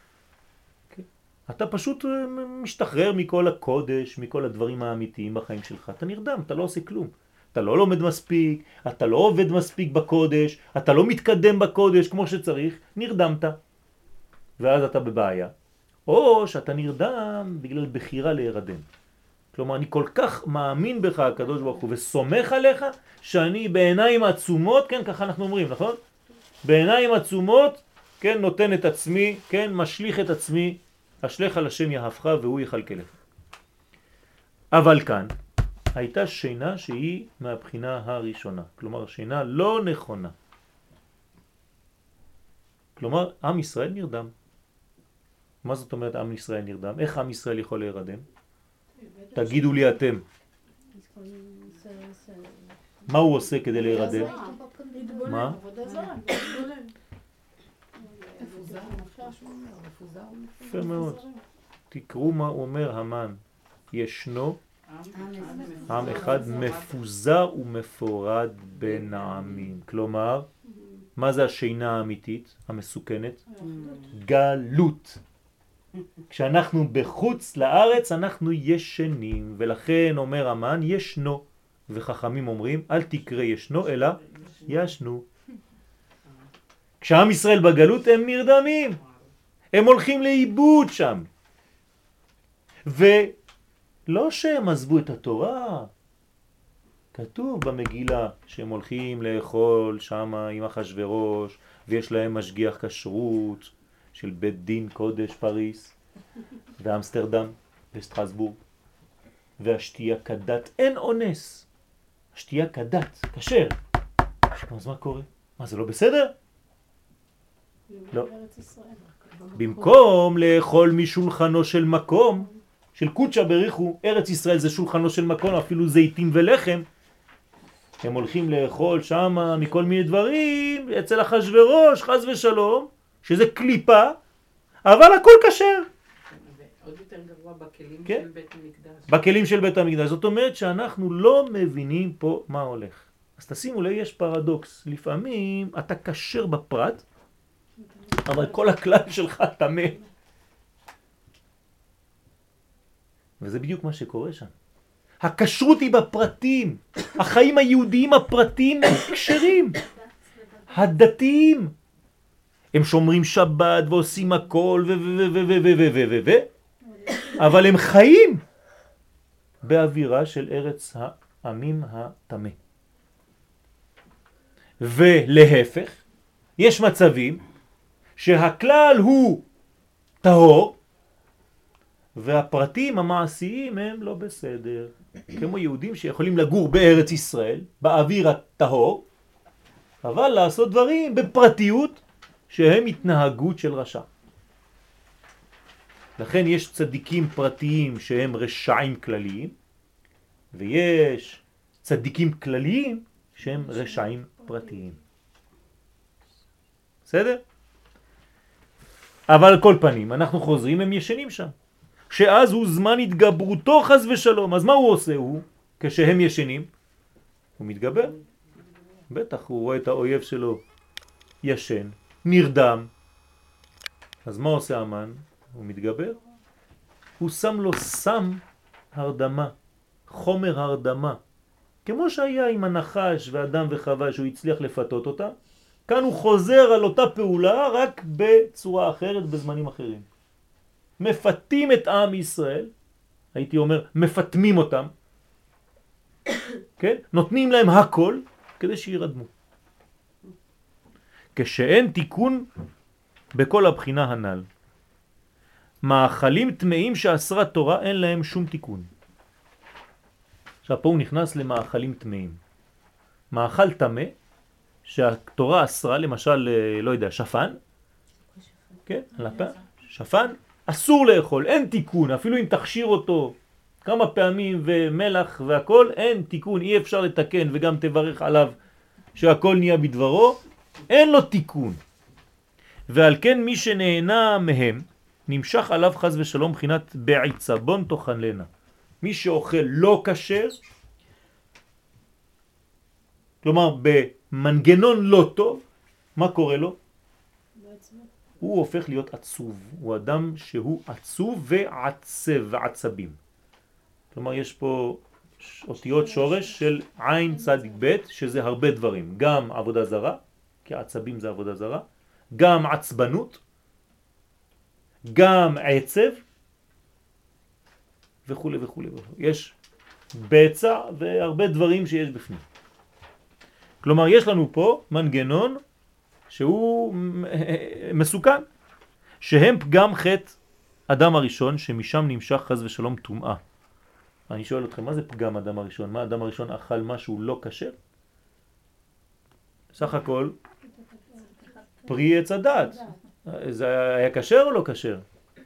אתה פשוט משתחרר מכל הקודש, מכל הדברים האמיתיים בחיים שלך. אתה נרדם, אתה לא עושה כלום. אתה לא לומד מספיק, אתה לא עובד מספיק בקודש, אתה לא מתקדם בקודש כמו שצריך, נרדמת. ואז אתה בבעיה. או שאתה נרדם בגלל בחירה להירדם. כלומר, אני כל כך מאמין בך, הקדוש ברוך הוא, וסומך עליך, שאני בעיניים עצומות, כן, ככה אנחנו אומרים, נכון? בעיניים עצומות, כן, נותן את עצמי, כן, משליך את עצמי, אשליך על השם יהפך והוא יחלקלך. אבל כאן, הייתה שינה שהיא מהבחינה הראשונה. כלומר, שינה לא נכונה. כלומר, עם ישראל נרדם. מה זאת אומרת עם ישראל נרדם? איך עם ישראל יכול להירדם? תגידו לי אתם. מה הוא עושה כדי להירדם? מה? יפה מאוד. תקראו מה אומר המן. ישנו עם אחד מפוזר ומפורד בין העמים. כלומר, מה זה השינה האמיתית, המסוכנת? גלות. כשאנחנו בחוץ לארץ אנחנו ישנים, ולכן אומר המן ישנו, וחכמים אומרים אל תקרא ישנו אלא ישנו. כשעם ישראל בגלות הם נרדמים, הם הולכים לאיבוד שם. ולא שהם עזבו את התורה, כתוב במגילה שהם הולכים לאכול שם עם אחשוורוש, ויש להם משגיח כשרות של בית דין קודש פריס ואמסטרדם וסטרסבורג, והשתייה כדת, אין אונס, השתייה כדת, כשר. אז מה קורה? מה, זה לא בסדר? לא. במקום לאכול משולחנו של מקום, של קודשא בריחו, ארץ ישראל זה שולחנו של מקום, אפילו זיתים ולחם, הם הולכים לאכול שם מכל מיני דברים, אצל אחשוורוש, חס ושלום, שזה קליפה, אבל הכל כשר. עוד יותר גרוע בכלים כן? של בית המקדש. בכלים של בית המקדש. זאת אומרת שאנחנו לא מבינים פה מה הולך. אז תשימו לב, יש פרדוקס. לפעמים אתה כשר בפרט, אבל כל הכלל שלך טמא. וזה בדיוק מה שקורה שם. הכשרות היא בפרטים. החיים היהודיים הפרטיים הם כשרים. הדתיים. הם שומרים שבת ועושים הכל ו ו ו ו ו ו ו ו ו אבל הם חיים באווירה של ארץ העמים הטמא. ולהפך, יש מצבים שהכלל הוא טהור והפרטים המעשיים הם לא בסדר. כמו יהודים שיכולים לגור בארץ ישראל, באוויר הטהור, אבל לעשות דברים בפרטיות שהם התנהגות של רשע. לכן יש צדיקים פרטיים שהם רשעים כלליים, ויש צדיקים כלליים שהם רשעים פרטיים. בסדר? אבל על כל פנים, אנחנו חוזרים, הם ישנים שם. שאז הוא זמן התגברותו חס ושלום. אז מה הוא עושה הוא? כשהם ישנים, הוא מתגבר. בטח, הוא רואה את האויב שלו ישן, נרדם. אז מה עושה המן? הוא מתגבר. הוא שם לו סם הרדמה, חומר הרדמה. כמו שהיה עם הנחש ואדם וחווה שהוא הצליח לפתות אותה, כאן הוא חוזר על אותה פעולה רק בצורה אחרת בזמנים אחרים. מפתים את עם ישראל, הייתי אומר מפתמים אותם, כן? נותנים להם הכל כדי שירדמו. כשאין תיקון בכל הבחינה הנ"ל. מאכלים טמאים שאסרה תורה אין להם שום תיקון. עכשיו פה הוא נכנס למאכלים טמאים. מאכל טמא שהתורה אסרה, למשל, לא יודע, שפן, כן? שפן אסור לאכול, אין תיקון, אפילו אם תכשיר אותו כמה פעמים ומלח והכל, אין תיקון, אי אפשר לתקן וגם תברך עליו שהכל נהיה בדברו, אין לו תיקון. ועל כן מי שנהנה מהם נמשך עליו חס ושלום בחינת בעיצה, בון תוכן לנה. מי שאוכל לא כשר, כלומר במנגנון לא טוב, מה קורה לו? הוא הופך להיות עצוב. הוא אדם שהוא עצוב ועצב ועצבים. כלומר יש פה אותיות שורש של עין צדיק ב' שזה הרבה דברים. גם עבודה זרה, כי עצבים זה עבודה זרה, גם עצבנות, גם עצב וכו' וכו'. יש בצע והרבה דברים שיש בפנים. כלומר יש לנו פה מנגנון שהוא מסוכן, שהם פגם חטא אדם הראשון שמשם נמשך חס ושלום טומאה. אני שואל אתכם, מה זה פגם אדם הראשון? מה אדם הראשון אכל משהו לא כשר? סך הכל פרי עץ הדת. זה היה כשר או לא כשר?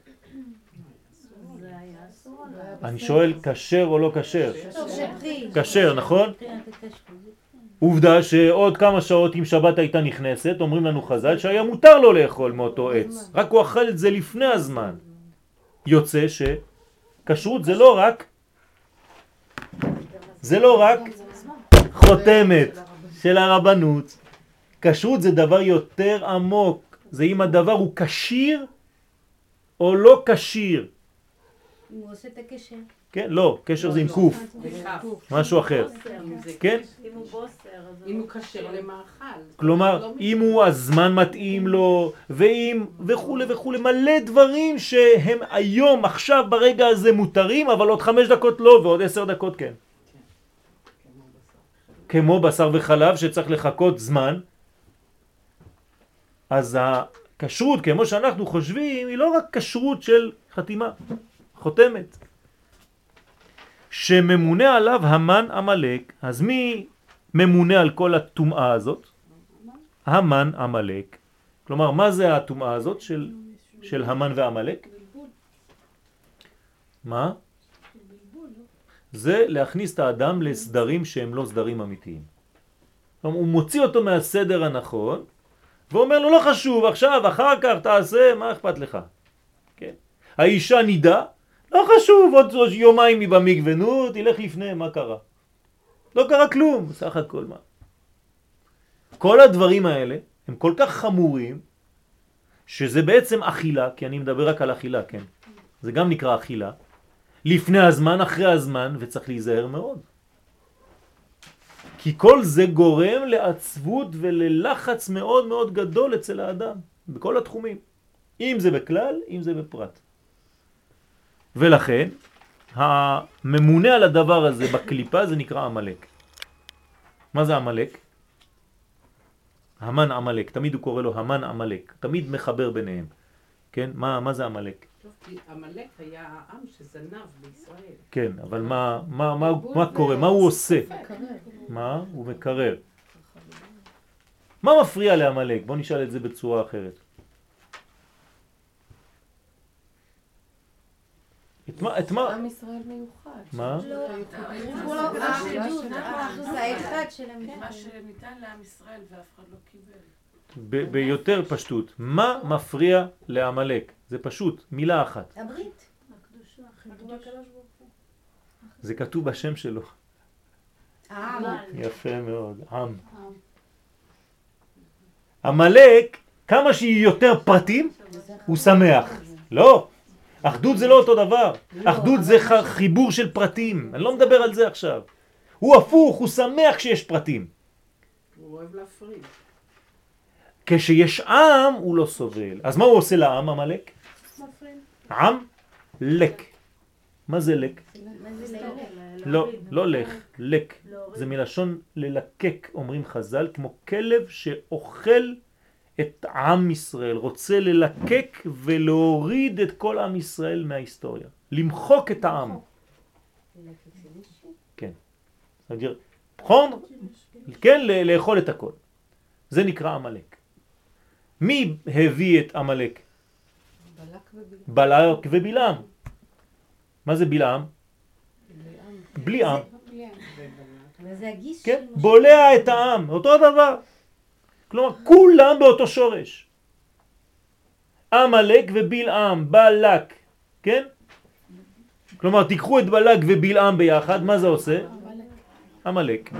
אני שואל כשר או לא כשר? כשר, נכון? עובדה שעוד כמה שעות אם שבת הייתה נכנסת, אומרים לנו חז"ל שהיה מותר לו לאכול מאותו עץ, רק הוא אכל את זה לפני הזמן. יוצא שכשרות זה לא רק זה לא רק חותמת של הרבנות. כשרות זה דבר יותר עמוק, זה אם הדבר הוא כשיר או לא כשיר. אם הוא עושה את הקשר. כן? לא, קשר זה עם קוף, בכף. משהו אחר. אם זה כן? אם הוא בוסר, אז אם הוא כשר למאכל. כלומר, לא אם הוא הזמן מתאים לו, ואם וכו' וכו', מלא דברים שהם היום, עכשיו, ברגע הזה מותרים, אבל עוד חמש דקות לא, ועוד עשר דקות כן. כמו בשר. כמו בשר וחלב שצריך לחכות זמן. אז הכשרות, כמו שאנחנו חושבים, היא לא רק כשרות של חתימה, חותמת. שממונה עליו המן עמלק. אז מי ממונה על כל הטומאה הזאת? המן עמלק. כלומר, מה זה הטומאה הזאת של, של המן ועמלק? מה? זה להכניס את האדם לסדרים שהם לא סדרים אמיתיים. כלומר, הוא מוציא אותו מהסדר הנכון, ואומר לו, לא חשוב, עכשיו, אחר כך תעשה, מה אכפת לך? כן. האישה נידה, לא חשוב, עוד יומיים היא במקווה, נו, תלך לפני, מה קרה? לא קרה כלום, סך הכל מה. כל הדברים האלה הם כל כך חמורים, שזה בעצם אכילה, כי אני מדבר רק על אכילה, כן? זה גם נקרא אכילה. לפני הזמן, אחרי הזמן, וצריך להיזהר מאוד. כי כל זה גורם לעצבות וללחץ מאוד מאוד גדול אצל האדם, בכל התחומים. אם זה בכלל, אם זה בפרט. ולכן, הממונה על הדבר הזה בקליפה זה נקרא עמלק. מה זה עמלק? המן עמלק, תמיד הוא קורא לו המן עמלק, תמיד מחבר ביניהם. כן? מה, מה זה עמלק? טוב, כי עמלק היה העם שזנב בישראל. כן, אבל מה, מה, מה, מה קורה? מה הוא עושה? מה? הוא מקרר. מה מפריע לעמלק? בוא נשאל את זה בצורה אחרת. את מה? את מה? עם ישראל מיוחד. מה? לא, הוא לא האחדות, האחדות האחד שלהם. מה שניתן לעם ישראל ואף אחד לא קיבל. ב- ביותר פשטות. מה מפריע לעמלק? זה פשוט, מילה אחת. הברית. הקדושה, חיבור הקדוש ברוך הוא. זה כתוב בשם שלו. העם. יפה מאוד, עם. עמלק, כמה שהיא יותר פרטים, הוא שמח. לא, אחדות זה לא אותו דבר. אחדות זה ח- חיבור של פרטים. אני לא מדבר על זה עכשיו. הוא הפוך, הוא שמח כשיש פרטים. הוא אוהב להפריד. כשיש עם הוא לא סובל. אז מה הוא עושה לעם, עמלק? עם לק. מה זה לק? מה זה ללך? לא, לא לך, לק. זה מלשון ללקק, אומרים חז"ל, כמו כלב שאוכל את עם ישראל, רוצה ללקק ולהוריד את כל עם ישראל מההיסטוריה. למחוק את העם. כן. נכון? כן, לאכול את הכל. זה נקרא עמלק. מי הביא את עמלק? בלק ובלעם. מה זה בלעם? בלי עם. וזה הגיס כן? של משה. בולע את העם, אותו דבר. כלומר, כולם באותו שורש. עמלק ובלעם, בלק, כן? כלומר, תיקחו את בלק ובלעם ביחד, מה זה עושה? עמלק.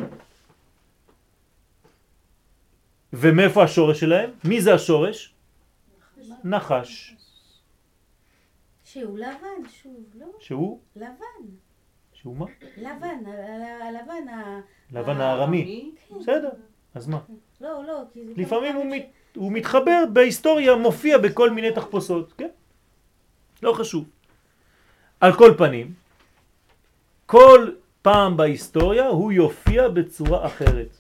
ומאיפה השורש שלהם? מי זה השורש? נחש. שהוא לבן, שוב, לא? שהוא? לבן. שהוא מה? לבן, ה- ה- הלבן, ה- לבן הארמי. בסדר, אז מה? לא, לא, כי זה... לפעמים כמה הוא, פעמים מת, הוא מתחבר בהיסטוריה, מופיע בכל מיני תחפושות, כן? לא חשוב. על כל פנים, כל פעם בהיסטוריה הוא יופיע בצורה אחרת.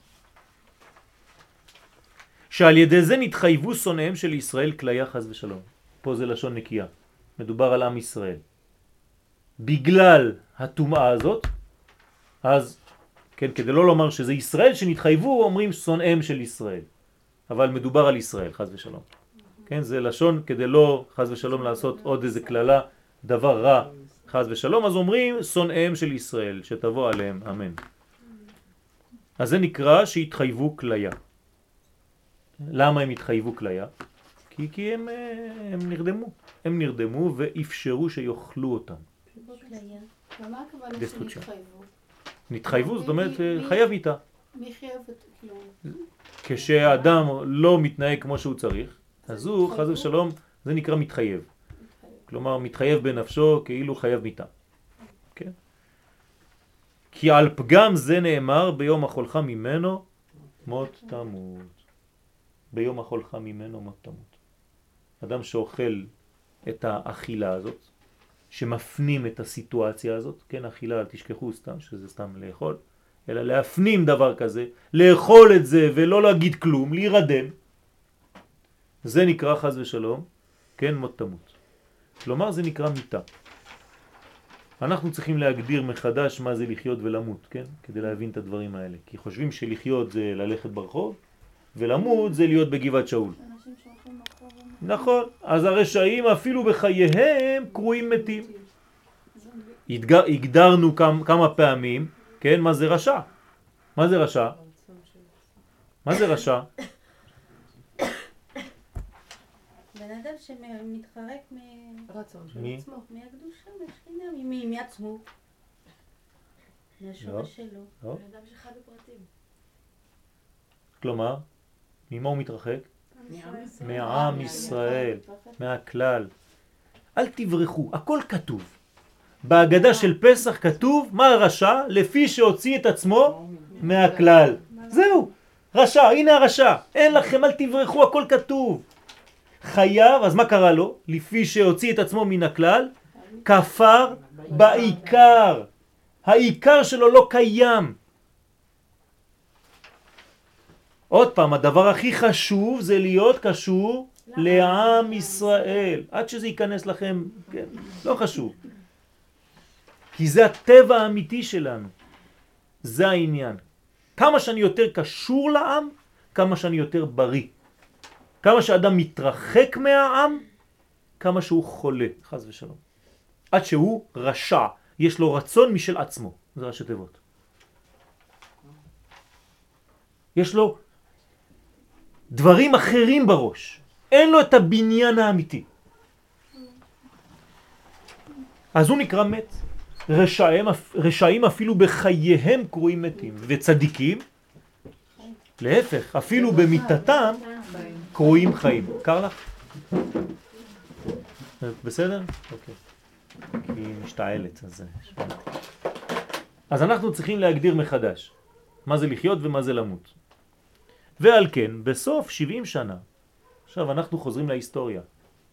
שעל ידי זה נתחייבו שונאיהם של ישראל כליה חס ושלום. פה זה לשון נקייה. מדובר על עם ישראל. בגלל הטומאה הזאת, אז, כן, כדי לא לומר שזה ישראל שנתחייבו, אומרים שונאיהם של ישראל. אבל מדובר על ישראל, חס ושלום. כן, זה לשון כדי לא, חס ושלום, לעשות עוד איזה כללה, דבר רע, חס ושלום, אז אומרים שונאיהם של ישראל, שתבוא עליהם, אמן. אז זה נקרא שהתחייבו כליה. למה הם התחייבו כליה? כי, כי הם, הם נרדמו. הם נרדמו ואפשרו שיאכלו אותם. ומה הכוונה דסטרוקציה. שנתחייבו? נתחייבו, זאת אומרת, מי- מי- חייב איתה. מי חייב את... כאילו... כשהאדם לא מתנהג כמו שהוא צריך, אז הוא, חס ושלום, זה נקרא מתחייב. כלומר מתחייב בנפשו כאילו חייב מיתה. כן? כי על פגם זה נאמר ביום החולך ממנו מות תמות. ביום החולך ממנו מות תמות. אדם שאוכל את האכילה הזאת, שמפנים את הסיטואציה הזאת, כן, אכילה, אל תשכחו סתם, שזה סתם לאכול, אלא להפנים דבר כזה, לאכול את זה ולא להגיד כלום, להירדם, זה נקרא חס ושלום, כן, מות תמות. כלומר זה נקרא מיתה. אנחנו צריכים להגדיר מחדש מה זה לחיות ולמות, כן? כדי להבין את הדברים האלה. כי חושבים שלחיות זה ללכת ברחוב, ולמות זה להיות בגבעת שאול. נכון, אז הרשעים אפילו בחייהם קרויים מתים. הגדר, הגדרנו כמה, כמה פעמים, כן, מה זה רשע? מה זה רשע? מה זה רשע? בן אדם שמתחרק רצון של מי? עצמו. מהקדושה, מהשכינה, מעצמו. מהשורש שלו. לא? בן אדם שחי בפרטים. כלומר, ממה הוא מתרחק? מעם ישראל. מעם ישראל, מהכלל. אל תברחו, הכל כתוב. בהגדה של פסח כתוב מה הרשע לפי שהוציא את עצמו מהכלל. זהו, רשע, הנה הרשע. אין לכם, אל תברחו, הכל כתוב. חייב, אז מה קרה לו? לפי שהוציא את עצמו מן הכלל, כפר בעיקר. העיקר שלו לא קיים. עוד פעם, הדבר הכי חשוב זה להיות קשור לעם ישראל. עד שזה ייכנס לכם, כן, לא חשוב. כי זה הטבע האמיתי שלנו. זה העניין. כמה שאני יותר קשור לעם, כמה שאני יותר בריא. כמה שאדם מתרחק מהעם, כמה שהוא חולה, חס ושלום. עד שהוא רשע, יש לו רצון משל עצמו. זה ראשי תיבות. יש לו דברים אחרים בראש. אין לו את הבניין האמיתי. אז הוא נקרא מת. רשעים, רשעים אפילו בחייהם קרויים מתים. וצדיקים, להפך, אפילו במיטתם קרויים חיים. קר לך? בסדר? אוקיי. כי היא משתעלת. אז... אז אנחנו צריכים להגדיר מחדש מה זה לחיות ומה זה למות. ועל כן, בסוף שבעים שנה, עכשיו אנחנו חוזרים להיסטוריה.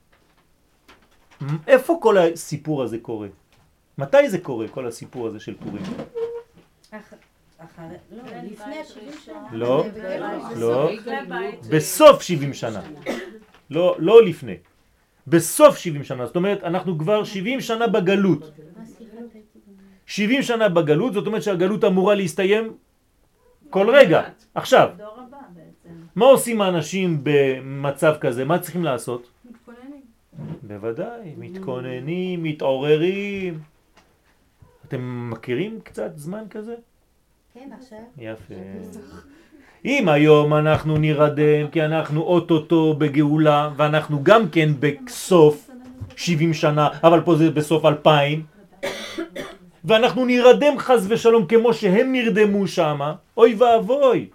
איפה כל הסיפור הזה קורה? מתי זה קורה, כל הסיפור הזה של פורים? אחרי, לא, לפני שבעים שנה. לא, לא, בבית. בסוף שבעים שנה. לא, לא לפני. בסוף שבעים שנה, זאת אומרת, אנחנו כבר שבעים שנה בגלות. אה, סליחה, טעיתי גם. שבעים שנה בגלות, זאת אומרת שהגלות אמורה להסתיים כל רגע. עכשיו, הדור הבא בעצם. מה עושים האנשים במצב כזה? מה צריכים לעשות? מתכוננים. בוודאי, מתכוננים, מתעוררים. אתם מכירים קצת זמן כזה? כן, עכשיו. יפה. אם היום אנחנו נרדם כי אנחנו אוטוטו בגאולה ואנחנו גם כן בסוף שבעים שנה, אבל פה זה בסוף אלפיים, ואנחנו נרדם חס ושלום כמו שהם נרדמו שם, אוי ואבוי.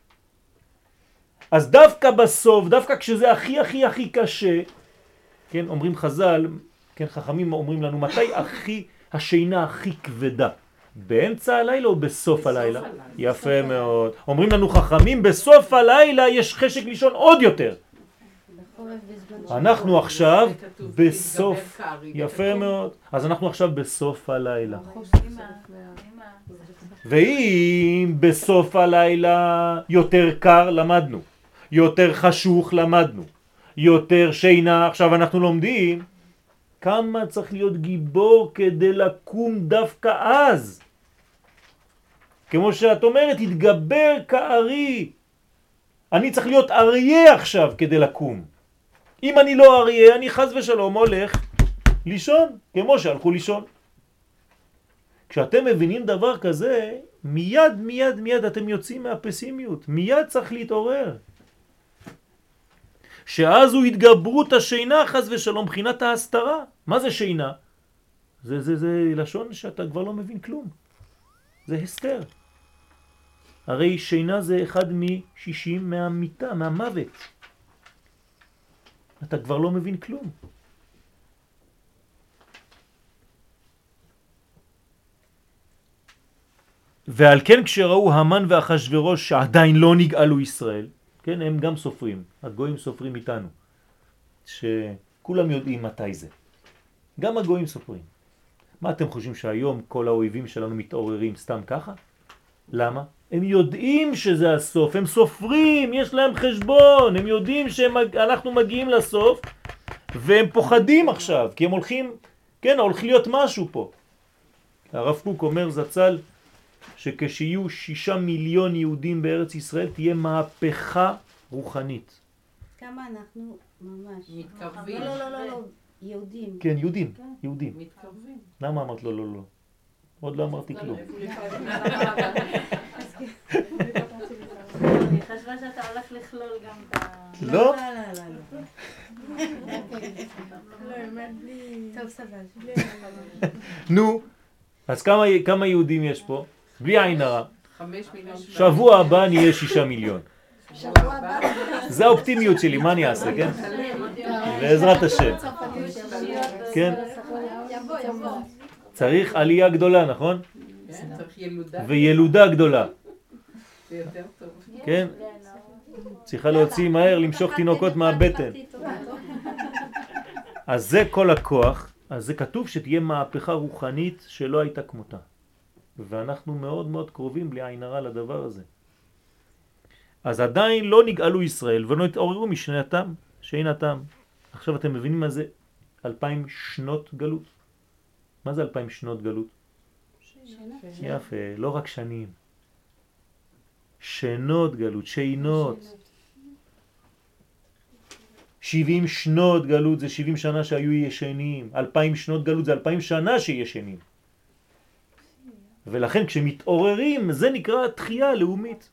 אז דווקא בסוף, דווקא כשזה הכי הכי הכי קשה, כן, אומרים חז"ל, כן, חכמים אומרים לנו מתי הכי השינה הכי כבדה, באמצע הלילה או בסוף הלילה? יפה מאוד. אומרים לנו חכמים, בסוף הלילה יש חשק לישון עוד יותר. בחורף בזמן אנחנו עכשיו כתוב, בסוף, "יתגבר קר", יפה מאוד. אז אנחנו עכשיו בסוף הלילה. אמא, אמא. ואם בסוף הלילה יותר קר למדנו, יותר חשוך למדנו, יותר שינה, עכשיו אנחנו לומדים כמה צריך להיות גיבור כדי לקום דווקא אז. כמו שאת אומרת, התגבר כארי. אני צריך להיות אריה עכשיו כדי לקום. אם אני לא אריה, אני חס ושלום הולך לישון, כמו שהלכו לישון. כשאתם מבינים דבר כזה, מיד מיד מיד אתם יוצאים מהפסימיות. מיד צריך להתעורר. שאז הוא התגברות השינה חס ושלום, בחינת ההסתרה. מה זה שינה? זה, זה, זה לשון שאתה כבר לא מבין כלום. זה הסתר. הרי שינה זה אחד משישים מהמיטה, מהמוות. אתה כבר לא מבין כלום. ועל כן כשראו המן ואחשוורוש שעדיין לא נגאלו ישראל, כן, הם גם סופרים, הגויים סופרים איתנו, שכולם יודעים מתי זה. גם הגויים סופרים. מה אתם חושבים שהיום כל האויבים שלנו מתעוררים סתם ככה? למה? הם יודעים שזה הסוף, הם סופרים, יש להם חשבון, הם יודעים שאנחנו מגיעים לסוף, והם פוחדים עכשיו, כי הם הולכים, כן, הולכים להיות משהו פה. הרב קוק אומר זצ"ל, שכשיהיו שישה מיליון יהודים בארץ ישראל, תהיה מהפכה רוחנית. כמה אנחנו ממש. מתקרבים. לא, לא, לא, לא, יהודים. כן, יהודים, יהודים. מתקרבים. למה אמרת לא, לא, לא? עוד לא אמרתי כלום. אני חשבה שאתה הולך לכלול גם את ה... לא? לא, לא, לא. לא, באמת בלי... טוב, סבבה. נו, אז כמה, כמה יהודים יש פה? בלי עין הרע. חמש מיליון. שבוע הבא נהיה שישה מיליון. שבוע הבא. זה האופטימיות שלי, מה אני אעשה, כן? בעזרת השם. כן? יבוא, יבוא. צריך עלייה גדולה, נכון? כן, צריך ילודה. וילודה גדולה, זה יותר טוב. כן? צריכה להוציא מהר, למשוך תינוקות מהבטן. אז זה כל הכוח, אז זה כתוב שתהיה מהפכה רוחנית שלא הייתה כמותה. ואנחנו מאוד מאוד קרובים בלי עין הרע לדבר הזה. אז עדיין לא נגאלו ישראל ולא התעוררו משנתם, שאינתם. עכשיו אתם מבינים מה זה אלפיים שנות גלות? מה זה אלפיים שנות גלות? יפה, לא רק שנים. שנות גלות, שינות. שבעים שנות גלות זה שבעים שנה שהיו ישנים. אלפיים שנות גלות זה אלפיים שנה שישנים. ולכן כשמתעוררים זה נקרא תחייה לאומית.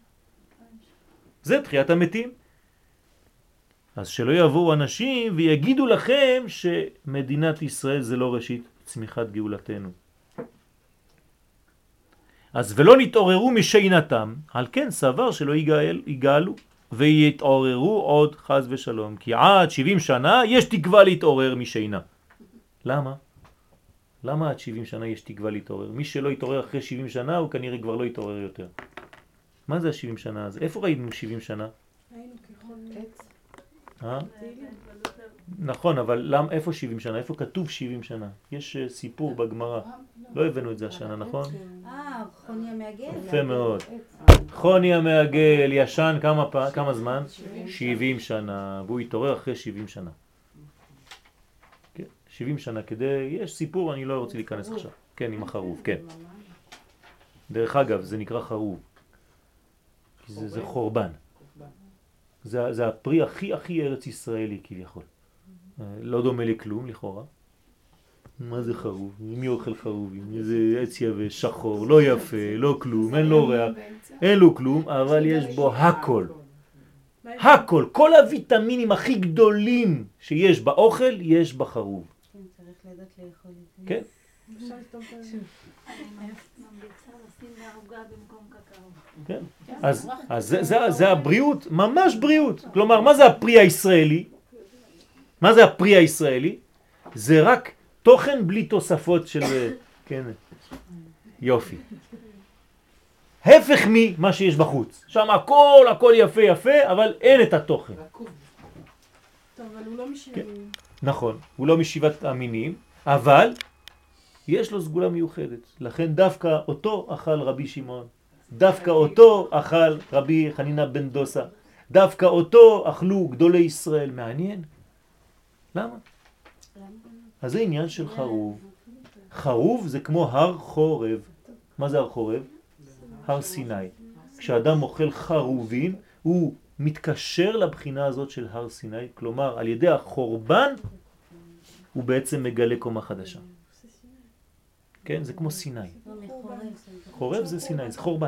זה תחיית המתים. אז שלא יבואו אנשים ויגידו לכם שמדינת ישראל זה לא ראשית צמיחת גאולתנו. אז ולא נתעוררו משינתם, על כן סבר שלא יגאל, יגאלו ויתעוררו עוד חז ושלום. כי עד שבעים שנה יש תקווה להתעורר משינה. למה? למה עד שבעים שנה יש תקווה להתעורר? מי שלא יתעורר אחרי שבעים שנה הוא כנראה כבר לא יתעורר יותר. מה זה ה-שבעים שנה הזה? איפה ראינו שבעים שנה? היינו ככל עץ. אה? נכון, אבל למה, איפה שבעים שנה? איפה כתוב שבעים שנה? יש uh, סיפור בגמרא. לא הבאנו את זה השנה, נכון? אה, חוני המעגל. יפה מאוד. חוני המעגל ישן כמה, פע... כמה זמן? שבעים שנה, והוא התעורר אחרי שבעים שנה. כן, שבעים שנה כדי, יש סיפור, אני לא רוצה להיכנס עכשיו. כן, עם החרוב, כן. דרך אגב, זה נקרא חרוב. כי זה, זה חורבן. זה, זה הפרי הכי הכי ארץ ישראלי כביכול. לא דומה לכלום לכאורה. מה זה חרוב? מי אוכל חרובים? זה עץ יבש, שחור, לא יפה, לא כלום, אין לו ריח, אין לו כלום, אבל יש בו הכל. הכל, כל הוויטמינים הכי גדולים שיש באוכל, יש בחרוב. כן, צריך לדעת לאכול את זה. כן? אפשר לכתוב את זה. אני ממליצה לשים בעוגה במקום קקאו. כן. אז, אז זה, זה, זה הבריאות, ממש בריאות. כלומר, מה זה הפרי הישראלי? מה זה הפרי הישראלי? זה רק תוכן בלי תוספות של... כן, יופי. הפך ממה שיש בחוץ. שם הכל, הכל יפה יפה, אבל אין את התוכן. טוב, אבל הוא לא משנים. נכון, הוא לא משיבת המינים, אבל יש לו סגולה מיוחדת. לכן דווקא אותו אכל רבי שמעון. דווקא אותו אכל רבי חנינה בן דוסה. דווקא אותו אכלו גדולי ישראל. מעניין. למה? אז זה עניין של חרוב. חרוב זה כמו הר חורב. מה זה הר חורב? הר סיני. כשאדם אוכל חרובים, הוא מתקשר לבחינה הזאת של הר סיני. כלומר, על ידי החורבן, הוא בעצם מגלה קומה חדשה. כן? זה כמו סיני. חורב זה סיני, זה חורבן.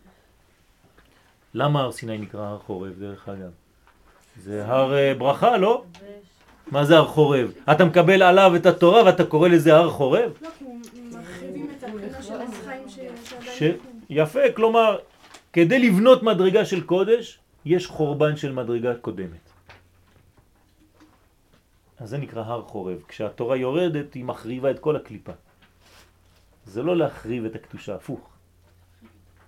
למה הר סיני נקרא הר חורב דרך אגב? זה הר ברכה, לא? מה זה הר חורב? אתה מקבל עליו את התורה ואתה קורא לזה הר חורב? לא, כי הוא מרחיבים את הבחינה של החיים שעדיין... ש... יפה, כלומר, כדי לבנות מדרגה של קודש, יש חורבן של מדרגה קודמת. אז זה נקרא הר חורב. כשהתורה יורדת, היא מחריבה את כל הקליפה. זה לא להחריב את הקדושה, הפוך.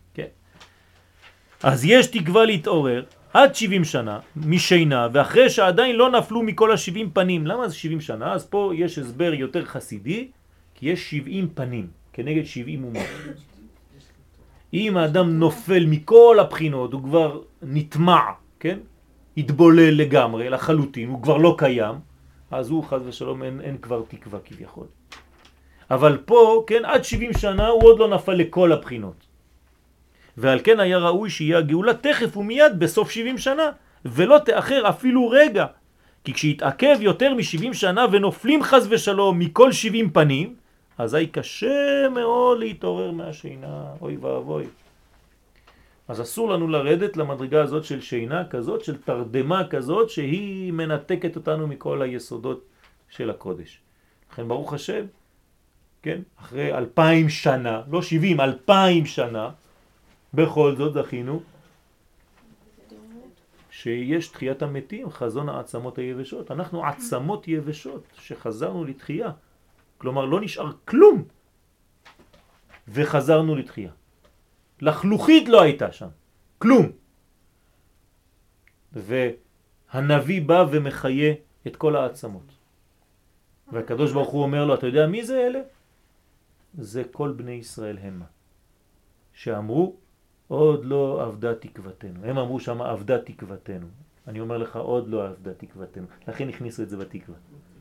כן. אז יש תקווה להתעורר עד שבעים שנה משינה, ואחרי שעדיין לא נפלו מכל ה-שבעים פנים. למה זה שבעים שנה? אז פה יש הסבר יותר חסידי, כי יש שבעים פנים כנגד שבעים אומות. אם האדם נופל מכל הבחינות, הוא כבר נטמע, כן? התבולל לגמרי, לחלוטין, הוא כבר לא קיים, אז הוא חד ושלום אין, אין כבר תקווה כביכול. אבל פה, כן, עד שבעים שנה הוא עוד לא נפל לכל הבחינות. ועל כן היה ראוי שיהיה הגאולה תכף ומיד בסוף שבעים שנה, ולא תאחר אפילו רגע. כי כשהתעכב יותר מ-שבעים שנה ונופלים חס ושלום מכל שבעים פנים, אזי קשה מאוד להתעורר מהשינה, אוי ואבוי. אז אסור לנו לרדת למדרגה הזאת של שינה כזאת, של תרדמה כזאת, שהיא מנתקת אותנו מכל היסודות של הקודש. לכן ברוך השם, כן, אחרי אלפיים שנה, לא שבעים, אלפיים שנה, בכל זאת זכינו שיש תחיית המתים, חזון העצמות היבשות. אנחנו עצמות יבשות שחזרנו לתחייה. כלומר לא נשאר כלום וחזרנו לתחייה. לחלוכית לא הייתה שם, כלום. והנביא בא ומחיה את כל העצמות. והקדוש ברוך הוא אומר לו, אתה יודע מי זה אלה? זה כל בני ישראל המה. שאמרו, עוד לא עבדה תקוותנו. הם אמרו שם עבדה תקוותנו. אני אומר לך, עוד לא עבדה תקוותנו. לכן הכניסו את זה בתקווה.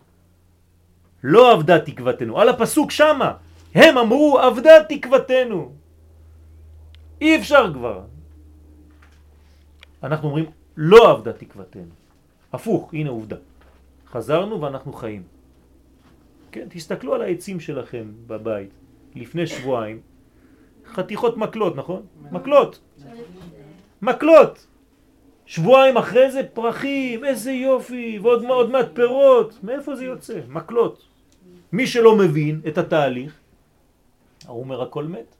לא עבדה תקוותנו. על הפסוק שמה. הם אמרו עבדה תקוותנו. אי אפשר כבר. אנחנו אומרים לא עבדה תקוותנו. הפוך, הנה עובדה. חזרנו ואנחנו חיים. כן, תסתכלו על העצים שלכם בבית. לפני שבועיים. חתיכות מקלות, נכון? מקלות. מקלות. שבועיים אחרי זה פרחים, איזה יופי, ועוד עוד מעט פירות. מאיפה זה יוצא? מקלות. מי שלא מבין את התהליך, הוא אומר הכל מת.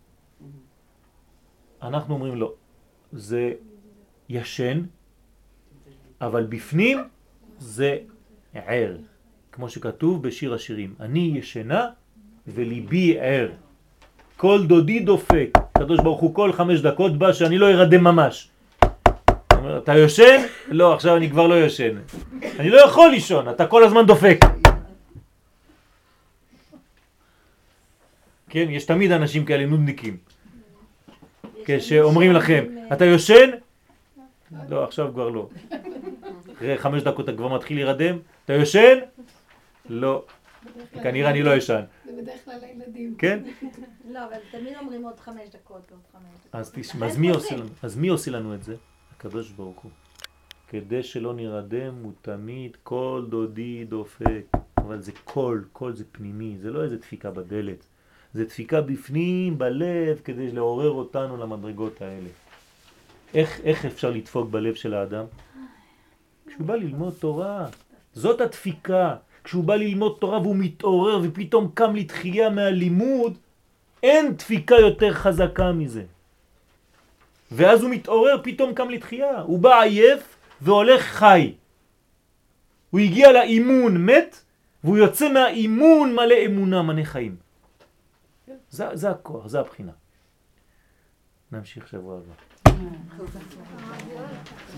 אנחנו אומרים לא. זה ישן, אבל בפנים זה ער. כמו שכתוב בשיר השירים. אני ישנה וליבי ער. כל דודי דופק. הקדוש ברוך הוא כל חמש דקות בא שאני לא ירדם ממש. אומר, אתה יושן? לא, עכשיו אני כבר לא יושן. אני לא יכול לישון, אתה כל הזמן דופק. כן, יש תמיד אנשים כאלה נודניקים. כשאומרים לכם, אתה יושן? לא, עכשיו כבר לא. אחרי חמש דקות אתה כבר מתחיל להירדם. אתה יושן? לא. כנראה אני לא ישן. זה בדרך כלל הילדים. כן? לא, אבל תמיד אומרים עוד חמש דקות ועוד חמש דקות. אז תשמע, אז מי עושה לנו? אז מי עושה לנו את זה? הקדוש ברוך הוא. כדי שלא נרדם הוא תמיד כל דודי דופק. אבל זה קול, קול זה פנימי, זה לא איזה דפיקה בדלת. זה דפיקה בפנים, בלב, כדי לעורר אותנו למדרגות האלה. איך, איך אפשר לדפוק בלב של האדם? כשהוא בא ללמוד תורה. זאת הדפיקה. כשהוא בא ללמוד תורה והוא מתעורר ופתאום קם לתחייה מהלימוד, אין דפיקה יותר חזקה מזה. ואז הוא מתעורר, פתאום קם לתחייה. הוא בא עייף והולך חי. הוא הגיע לאימון מת, והוא יוצא מהאימון מלא אמונה, מלא חיים. זה, זה הכוח, זה הבחינה. נמשיך שבוע הבא.